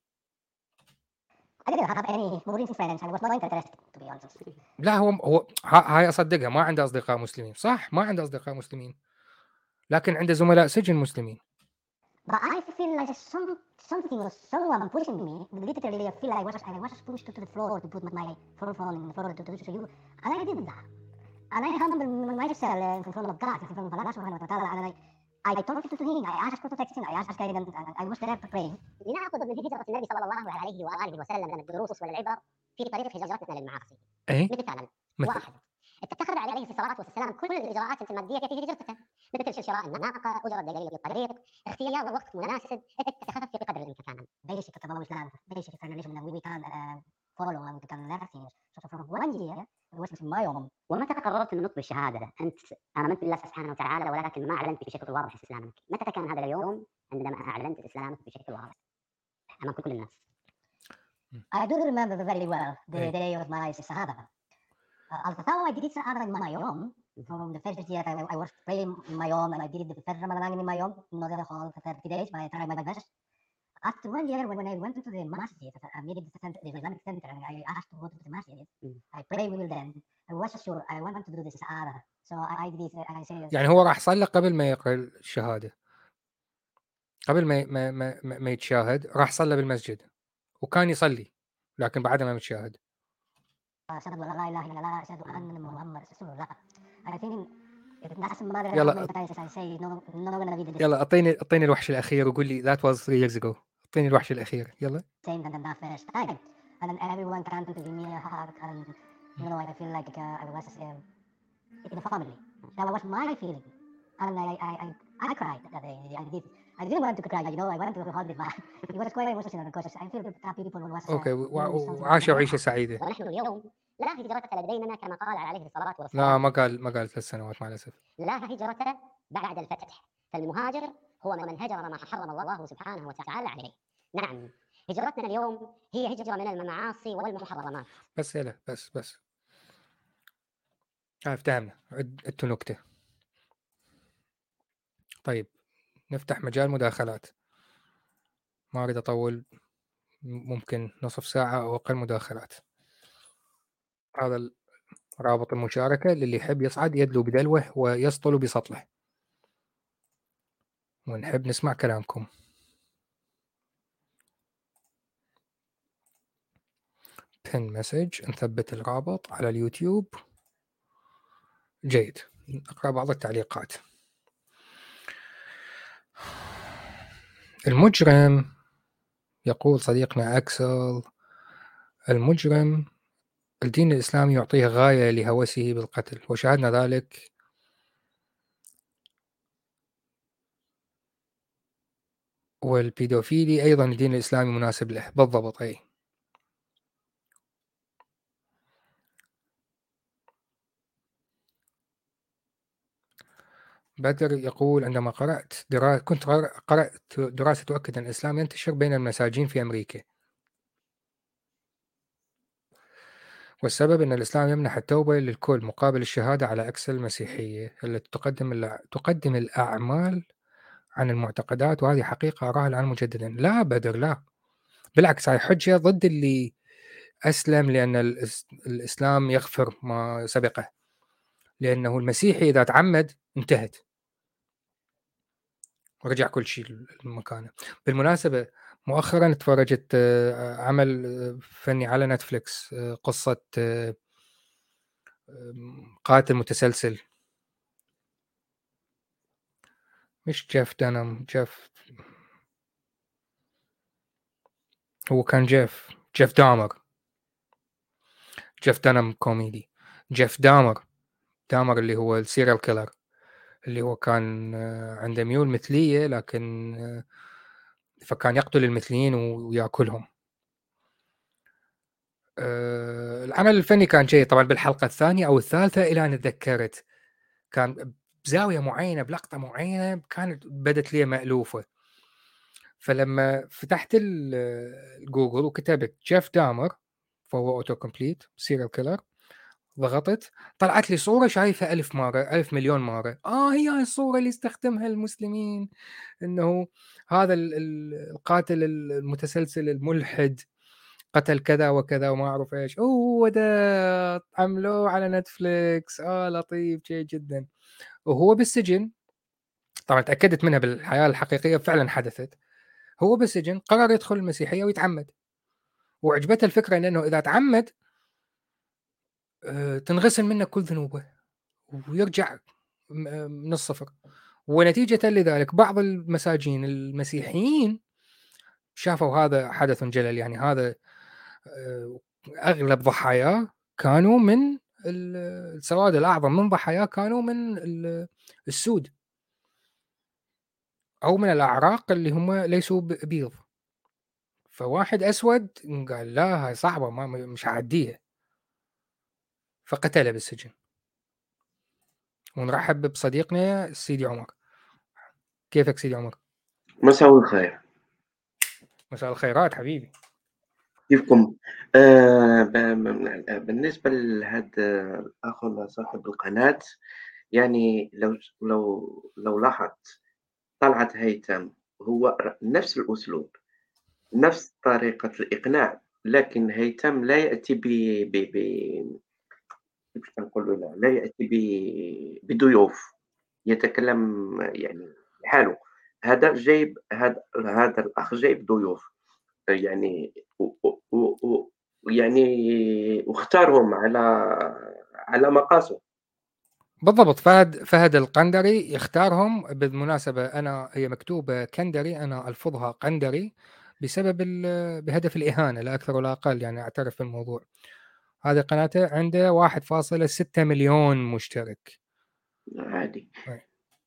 I didn't have any Muslim friends. I was not interested, to be honest. لا هو هاي أصدقها، ما عنده أصدقاء مسلمين، صح ما عنده أصدقاء مسلمين، لكن عنده زملاء سجن مسلمين. But I feel like something or someone pushing me. Literally, I feel like I was pushed to the floor to put my phone in the floor to do you. And I did that. And I humbled myself in front of God, in front of Allah subhanahu wa ta'ala. And I talked to him. I asked for protection. I asked guidance. And I was there praying. لنأخذ من هجرة النبي صلى الله عليه وآله وسلم من الدروس والعبر في طريق هجرتنا للمعاصي. مثلا واحد، اتخذ عليه الصلاة والسلام كل الإجراءات المادية في هجرته، مثل شراء الناقة، أجرة دليل الطريق، اختيار وقت مناسب، اتخذ في قدر الإمكان. Basic development plan, basic relation that we can follow and we can learn things. So from 1 year, I was in my own. ومتى قررت من نطق بالشهادة؟ أنت آمنت بالله سبحانه وتعالى ولكن ما أعلنت بشكل واضح إسلامك. متى كان هذا اليوم عندما أعلنت إسلامك بشكل واضح أمام كل الناس؟ I do remember very well the day of my Shahada. Although I did Shahada in my own, from the first year I was praying in my own, and I did the first Ramadan in my own, not the whole 30 days, but I tried my best. After 1 year, when I went to the masjid, I needed the Islamic center, and I asked to go to the masjid. I prayed with them. I was sure I wanted to do this Shahada. So I did it, I said... يعني هو راح صلى قبل ما يقرأ الشهادة، قبل ما يتشاهد راح صلى بالمسجد وكان يصلي، لكن بعد ما يتشاهد أشهد أن لا إله إلا الله أشهد أن محمد رسول الله. I think يلا اعطيني الوحش الأخير وقول لي that was 3 years ago. اعطيني الوحش الأخير يلا. Saying that first time, and then everyone came to give me a hug, and you know I feel like I was in a family. That was my feeling, and I cried that day. I didn't want to cry, you know. I wanted to hold it back. It was quite emotional because I feel that people was اوكي وعاشوا عيشة سعيدة. ونحن اليوم لا هجرة لدينا كما قال عليه الصلاة والسلام. لا ما قال 3 سنوات مع الأسف. لا هجرة بعد الفتح، فالمهاجر هو من هجر ما حرم الله سبحانه وتعالى عليه. نعم هجرتنا اليوم هي هجرة من المعاصي والمحرمات. بس يلا بس افتهمنا. عدتوا نكتة. طيب نفتح مجال مداخلات، ما أريد أطول، ممكن نصف ساعة أو أقل مداخلات. هذا رابط المشاركة للي يحب يصعد يدلو بدلوه ويسطل بسطله، ونحب نسمع كلامكم. pin message، نثبت الرابط على اليوتيوب. جيد، نقرأ بعض التعليقات. المجرم، يقول صديقنا أكسل، المجرم الدين الإسلامي يعطيه غاية لهوسه بالقتل، وشاهدنا ذلك والبيدوفيلي أيضا الدين الإسلامي مناسب له. بالضبط أي. بدر يقول عندما كنت قرأت دراسة تؤكد أن الإسلام ينتشر بين المساجين في أمريكا، والسبب أن الإسلام يمنح التوبة للكل مقابل الشهادة على عكس المسيحية التي تقدم الأعمال عن المعتقدات، وهذه حقيقة أراها الآن مجددا. لا بدر، لا، بالعكس، هاي حجة ضد اللي أسلم لأن الإسلام يغفر ما سبقه، لأنه المسيحي إذا تعمد انتهت ورجع كل شيء لمكانه. بالمناسبة مؤخرا تفرجت عمل فني على نتفليكس، قصة قاتل متسلسل، مش جيف دانم، هو كان جيف دانم كوميدي. جيف دامر اللي هو السيريال كيلر، اللي هو كان عنده ميول مثلية، لكن فكان يقتل المثليين ويأكلهم. العمل الفني كان جيد طبعا. بالحلقة الثانية أو الثالثة إلى أن تذكرت، كان بزاوية معينة بلقطة معينة كانت بدت لي مألوفة، فلما فتحت الجوجل وكتبت جيف دامر فهو أوتو كومبليت سيريال كيلر، ضغطت طلعت لي صورة شايفها 1000 مرة 1000 مليون مرة. هي الصورة اللي استخدمها المسلمين، إنه هذا القاتل المتسلسل الملحد قتل كذا وكذا وما أعرف إيش. هو ده عملوه على نتفليكس. لطيف جيد جدا. وهو بالسجن، طبعا تأكدت منها بالحياة الحقيقية فعلا حدثت. هو بالسجن قرر يدخل المسيحية ويتعمد، وعجبته الفكرة إنه إذا تعمد تنغسل منه كل ذنوبه ويرجع من الصفر. ونتيجة لذلك بعض المساجين المسيحيين شافوا هذا حدث جلل، يعني هذا أغلب ضحاياه كانوا من السواد الأعظم من ضحاياه كانوا من السود أو من الأعراق اللي هم ليسوا بيض. فواحد أسود قال لا هاي صعبة، مش هعديها، فقتله بالسجن. ونرحب بصديقنا سيدي عمر. كيفك سيدي عمر؟ مساء الخير. مساء الخيرات حبيبي. كيفكم؟ بالنسبة لهذا الأخ صاحب القناة، يعني لو لاحظت طلعت هيثم هو نفس الأسلوب، نفس طريقة الإقناع، لكن هيثم لا يأتي كيف نقولوا، لا يأتي بضيوف، يتكلم يعني لحاله. هذا جايب، هذا الأخ جايب ضيوف، يعني يعني واختارهم على مقاسه. بالضبط. فهد القندري يختارهم. بالمناسبة أنا هي مكتوبة كندري، أنا ألفظها قندري بسبب بهدف الإهانة لا أكثر ولا أقل، يعني أعترف بالموضوع. هذه قناته عنده 1.6 مليون مشترك. عادي. أي.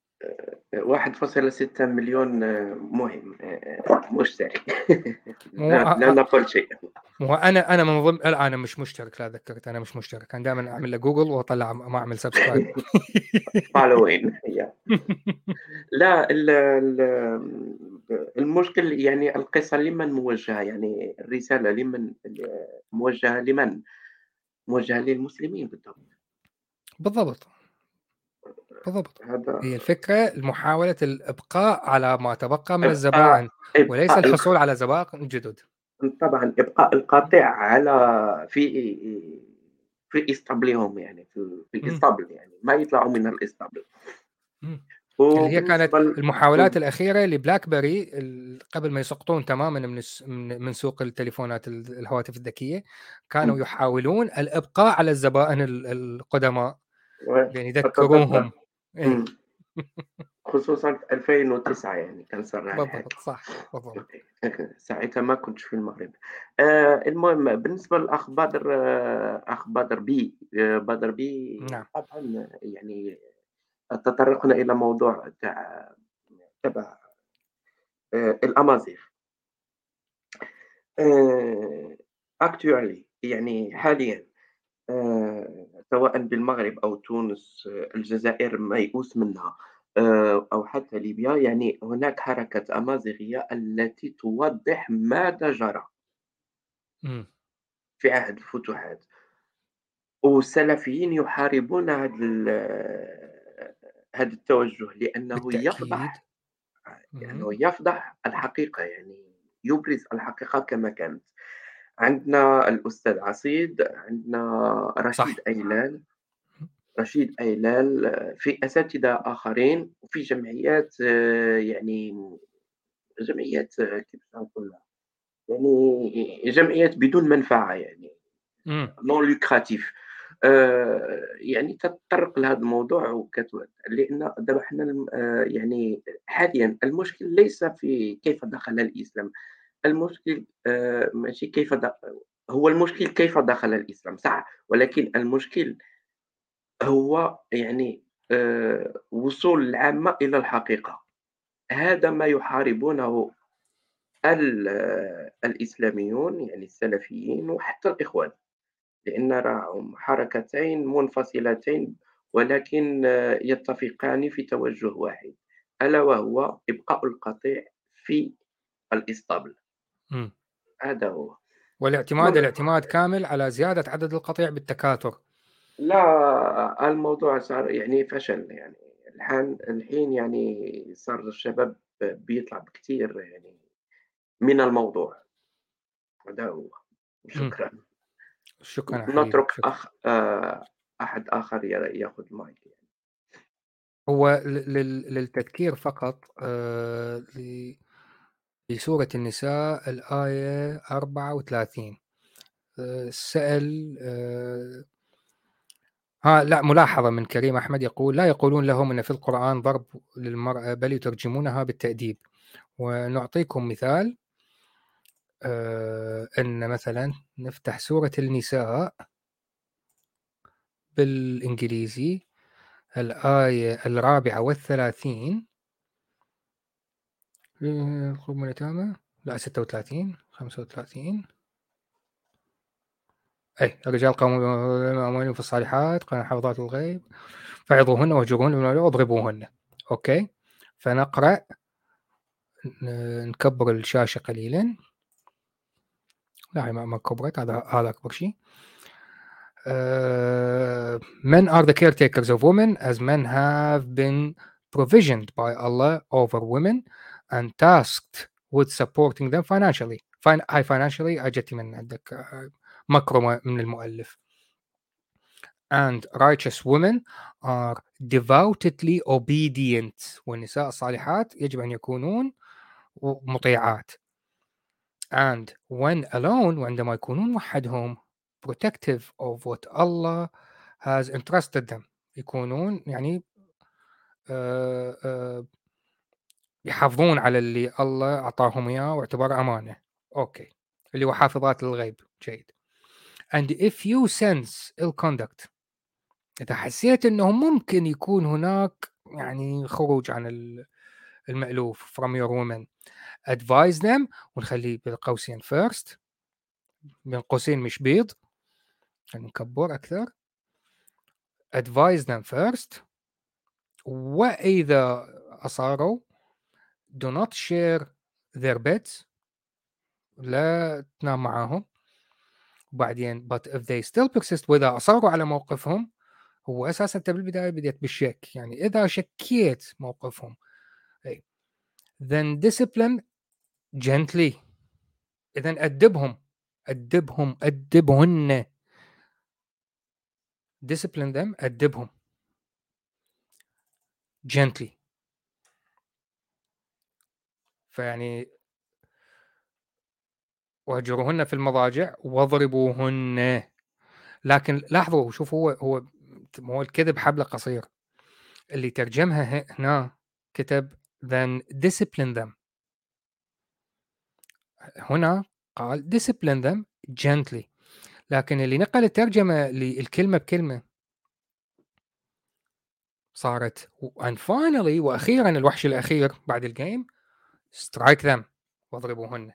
1.6 مليون مهم مشترك. مو لا نقول شيء. مو أنا من ضمن، لا أنا مش مشترك، لا ذكرت أنا مش مشترك، أنا دائما أعمل له جوجل وأطلع ما أعمل سبسكرايب. فالوين لا المشكل، يعني القصة لمن موجهة، يعني الرسالة لمن موجهة لمن؟ موجهة للمسلمين بالضبط. بالضبط. هذا هي الفكرة محاولة الإبقاء على ما تبقى من إبقاء الزبائن، وليس إبقاء الحصول على زبائن جدد. طبعًا إبقاء القطيع على في إسطبلهم، يعني في الإسطبل، يعني ما يطلعوا من الإسطبل. اللي هي كانت وبالنسبة المحاولات الأخيرة لبلاك بيري قبل ما يسقطون تماما من سوق التليفونات الهواتف الذكية، كانوا يحاولون الإبقاء على الزبائن القدماء بأن يذكروهم. إمم. خصوصًا في 2009 يعني كان صار على هذا. بالضبط صح بالضبط. ساعتها ما كنتش في المغرب. المهم بالنسبة للأخ بدر، أخ بدر بي نعم. طبعًا يعني تطرقنا إلى موضوع تبع الأمازيغ. actually يعني حاليًا، سواء بالمغرب أو تونس، الجزائر ميؤوس منها. أو حتى ليبيا، يعني هناك حركة أمازيغية التي توضح ماذا جرى إمم. في عهد الفتوحات، والسلفيين يحاربون هذا التوجه بالتأكيد. لأنه اهم. يفضح الحقيقة، يعني يبرز الحقيقة كما كانت. عندنا الأستاذ عصيد، عندنا صح. رشيد أيلال، في أساتذة آخرين، وفي جمعيات، يعني جمعيات، كيف نقولها، يعني جمعيات بدون منفعة، يعني إمم. non lucratif. يعني تتطرق لهذا الموضوع لأن دابا حنا يعني حاليًا المشكل ليس في كيف دخل الإسلام، المشكل ماشي كيف هو المشكل كيف دخل الإسلام صح، ولكن المشكل هو يعني وصول العامة إلى الحقيقة. هذا ما يحاربونه الإسلاميون، يعني السلفيين وحتى الإخوان، لأن راهم حركتين منفصلتين، ولكن يتفقان في توجه واحد، ألا وهو إبقاء القطيع في الإسطبل. إمم. هذا هو. الاعتماد كامل على زيادة عدد القطيع بالتكاثر. لا، الموضوع صار يعني فشل، يعني الحين يعني صار الشباب بيطلع بكتير يعني من الموضوع. هذا هو. إمم. شكرًا. شكرًا يا حبيبي، نترك شكرًا. أحد آخر يأخذ المايك يعني. هو للتذكير فقط لسورة النساء الآية 34 سأل لأ، ملاحظة من كريم أحمد يقول: "لا يقولون لهم إن في القرآن ضرب للمرأة بل يترجمونها بالتأديب." ونعطيكم مثال إن مثلًا نفتح سورة النساء بالإنجليزي الآية 34 الخروج من اليتامى لأ 36 35 الرجال قوامون أموالهم في الصالحات قال حافظات الغيب فعظوهن واهجروهن واضربوهن. أوكي، فنقرأ نكبر الشاشة قليلًا. لا هي ما كبرت، هذا أكبر شيء. Men are the caretakers of women as men have been provisioned by Allah over women and tasked with supporting them financially. هاي financially أجتي من عندك مكرمة من المؤلف. And righteous women are devoutly obedient. والنساء الصالحات يجب أن يكونون مطيعات. And when alone وعندما يكونون وحدهم protective of what Allah has entrusted them. يكونون يعني يحافظون على اللي الله أعطاهم إياه واعتباره أمانة. أوكي، اللي هو حافظات للغيب. جيد. And if you sense ill conduct إذا حسيت إنه ممكن يكون هناك يعني خروج عن المألوف from your woman advise them ونخليه بالقوسين first بين قوسين مش بيض نكبر أكثر advise them first وإذا أصاروا do not share their beds لا تنام معاهم. وبعدين but if they still persist وإذا أصروا على موقفهم هو أساسا أنت بالبداية بديت بالشك يعني إذا شكيت موقفهم then discipline gently إذا أدبهن discipline them أدبهم gently. فيعني واهجروهن في المضاجع واضربوهن. لكن لاحظوا شوف هو الكذب حبل قصير اللي ترجمها هنا كتب then discipline them هنا قال discipline them gently لكن اللي نقل الترجمة للكلمة بكلمة صارت and finally وأخيرا الوحش الأخير بعد الجيم strike them واضربوهن.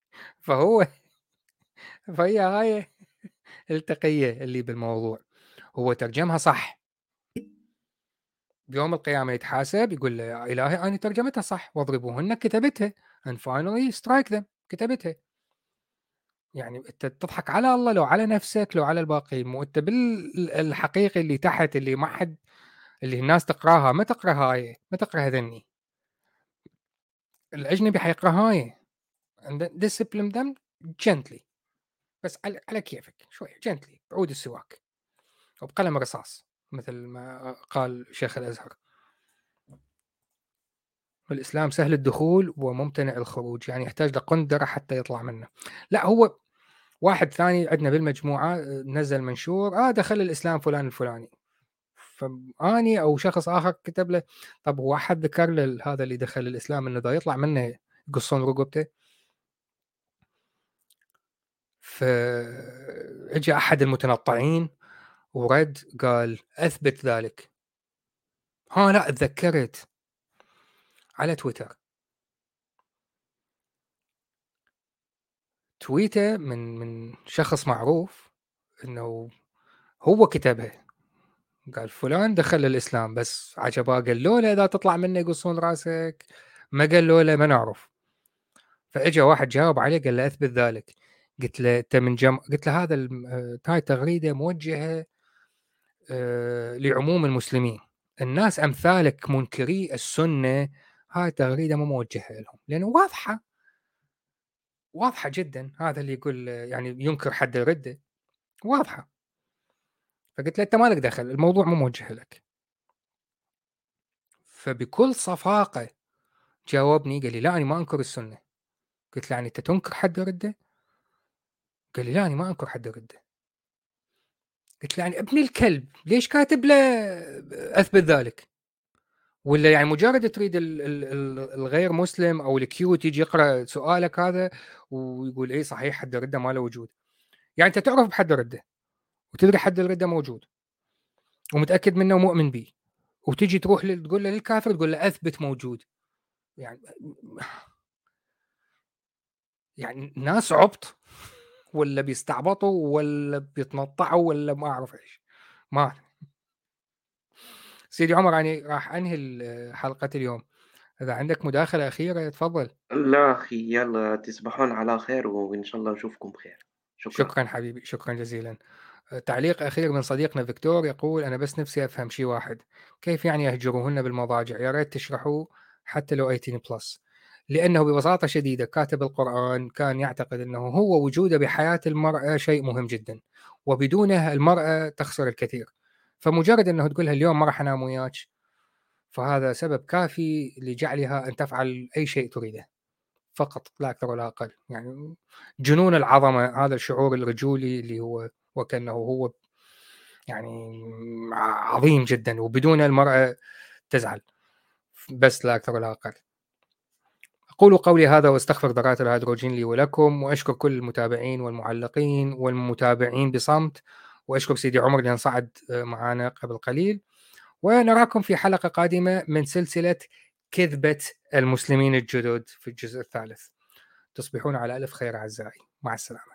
فهي هاي التقية اللي بالموضوع. هو ترجمها صح، بيوم القيامة يتحاسب يقول له يا إلهي أنا ترجمتها صح، واضربوهن كتبتها and finally strike them كتبتها. يعني أنت تضحك على الله لو على نفسك لو على الباقي، مو أنت بالحقيقي اللي تحت اللي ما حد اللي الناس تقراها، ما تقرا هاي ما تقرا هذني، الأجنبي حيقرا هاي and discipline them gently، بس على كيفك شوي gently بعود السواك وبقلم رصاص مثل ما قال شيخ الأزهر. الإسلام سهل الدخول وممتنع الخروج، يعني يحتاج لقندرة حتى يطلع منه. لا هو واحد ثاني عندنا بالمجموعة نزل منشور دخل الإسلام فلان الفلاني، فأني أو شخص آخر كتب له طب هو أحد ذكر له هذا اللي دخل الإسلام إنه دا يطلع منه يقصون رقبته؟ فإجا أحد المتنطعين ورد قال أثبت ذلك. لا اتذكرت على تويتر تويته من شخص معروف انه هو كتبها، قال فلان دخل الاسلام بس عجباه، قال له اذا تطلع منه يقصون راسك، ما قال له ما نعرف. فاجا واحد جاوب عليه قال له اثبت ذلك. قلت له انت من قلت له هذا هاي تغريده موجهه لعموم المسلمين، الناس امثالك منكري السنه هاي تغريده مو موجهه لهم، لانه واضحه جدا. هذا اللي يقول يعني ينكر حد الرده واضحه. فقلت له انت مالك دخل، الموضوع مو موجه لك. فبكل صفاقه جاوبني قال لي لا انا ما انكر السنه. قلت له يعني انت تنكر حد الرده؟ قال لي لا انا ما انكر حد الرده. قلت له يعني ابن الكلب ليش كاتب له اثبت ذلك؟ ولا يعني مجرد تريد الغير مسلم او الكيوت يجي يقرا سؤالك هذا ويقول ايه صحيح حد الرده ما له وجود؟ يعني انت تعرف بحد الرده وتدري حد الرده موجود ومتاكد منه ومؤمن به، وتجي تروح تقول له للكافر تقول له اثبت موجود؟ يعني ناس عبط ولا بيستعبطوا ولا بيتنطعوا ولا ما اعرف ايش. ما سيدي عمر يعني راح انهي حلقه اليوم، اذا عندك مداخله اخيره تفضل. لا أخي، يلا تصبحون على خير وإن شاء الله نشوفكم بخير. شكرا. شكرا حبيبي، شكرا جزيلا. تعليق أخير من صديقنا فيكتور يقول أنا بس نفسي أفهم شيء واحد، كيف يعني يهجروهن بالمضاجع؟ يا ريت تشرحوا حتى لو 18+، لأنه ببساطة شديدة كاتب القرآن كان يعتقد أنه هو وجوده بحياة المرأة شيء مهم جدا، وبدونه المرأة تخسر الكثير، فمجرد أنه تقولها اليوم ما راح أنام وياك فهذا سبب كافي لجعلها أن تفعل أي شيء تريده فقط لا أكثر ولا أقل. يعني جنون العظمة، هذا الشعور الرجولي اللي هو وكأنه هو يعني عظيم جدا، وبدون المرأة تزعل، بس لا أكثر ولا أقل. أقول قولي هذا واستغفر ذرات الهيدروجين لي ولكم، وأشكر كل المتابعين والمعلقين والمتابعين بصمت، وأشكر سيدي عمر لأن صعد معنا قبل قليل، ونراكم في حلقة قادمة من سلسلة كذبة المسلمين الجدد في الجزء الثالث. تصبحون على ألف خير أعزائي، مع السلامة.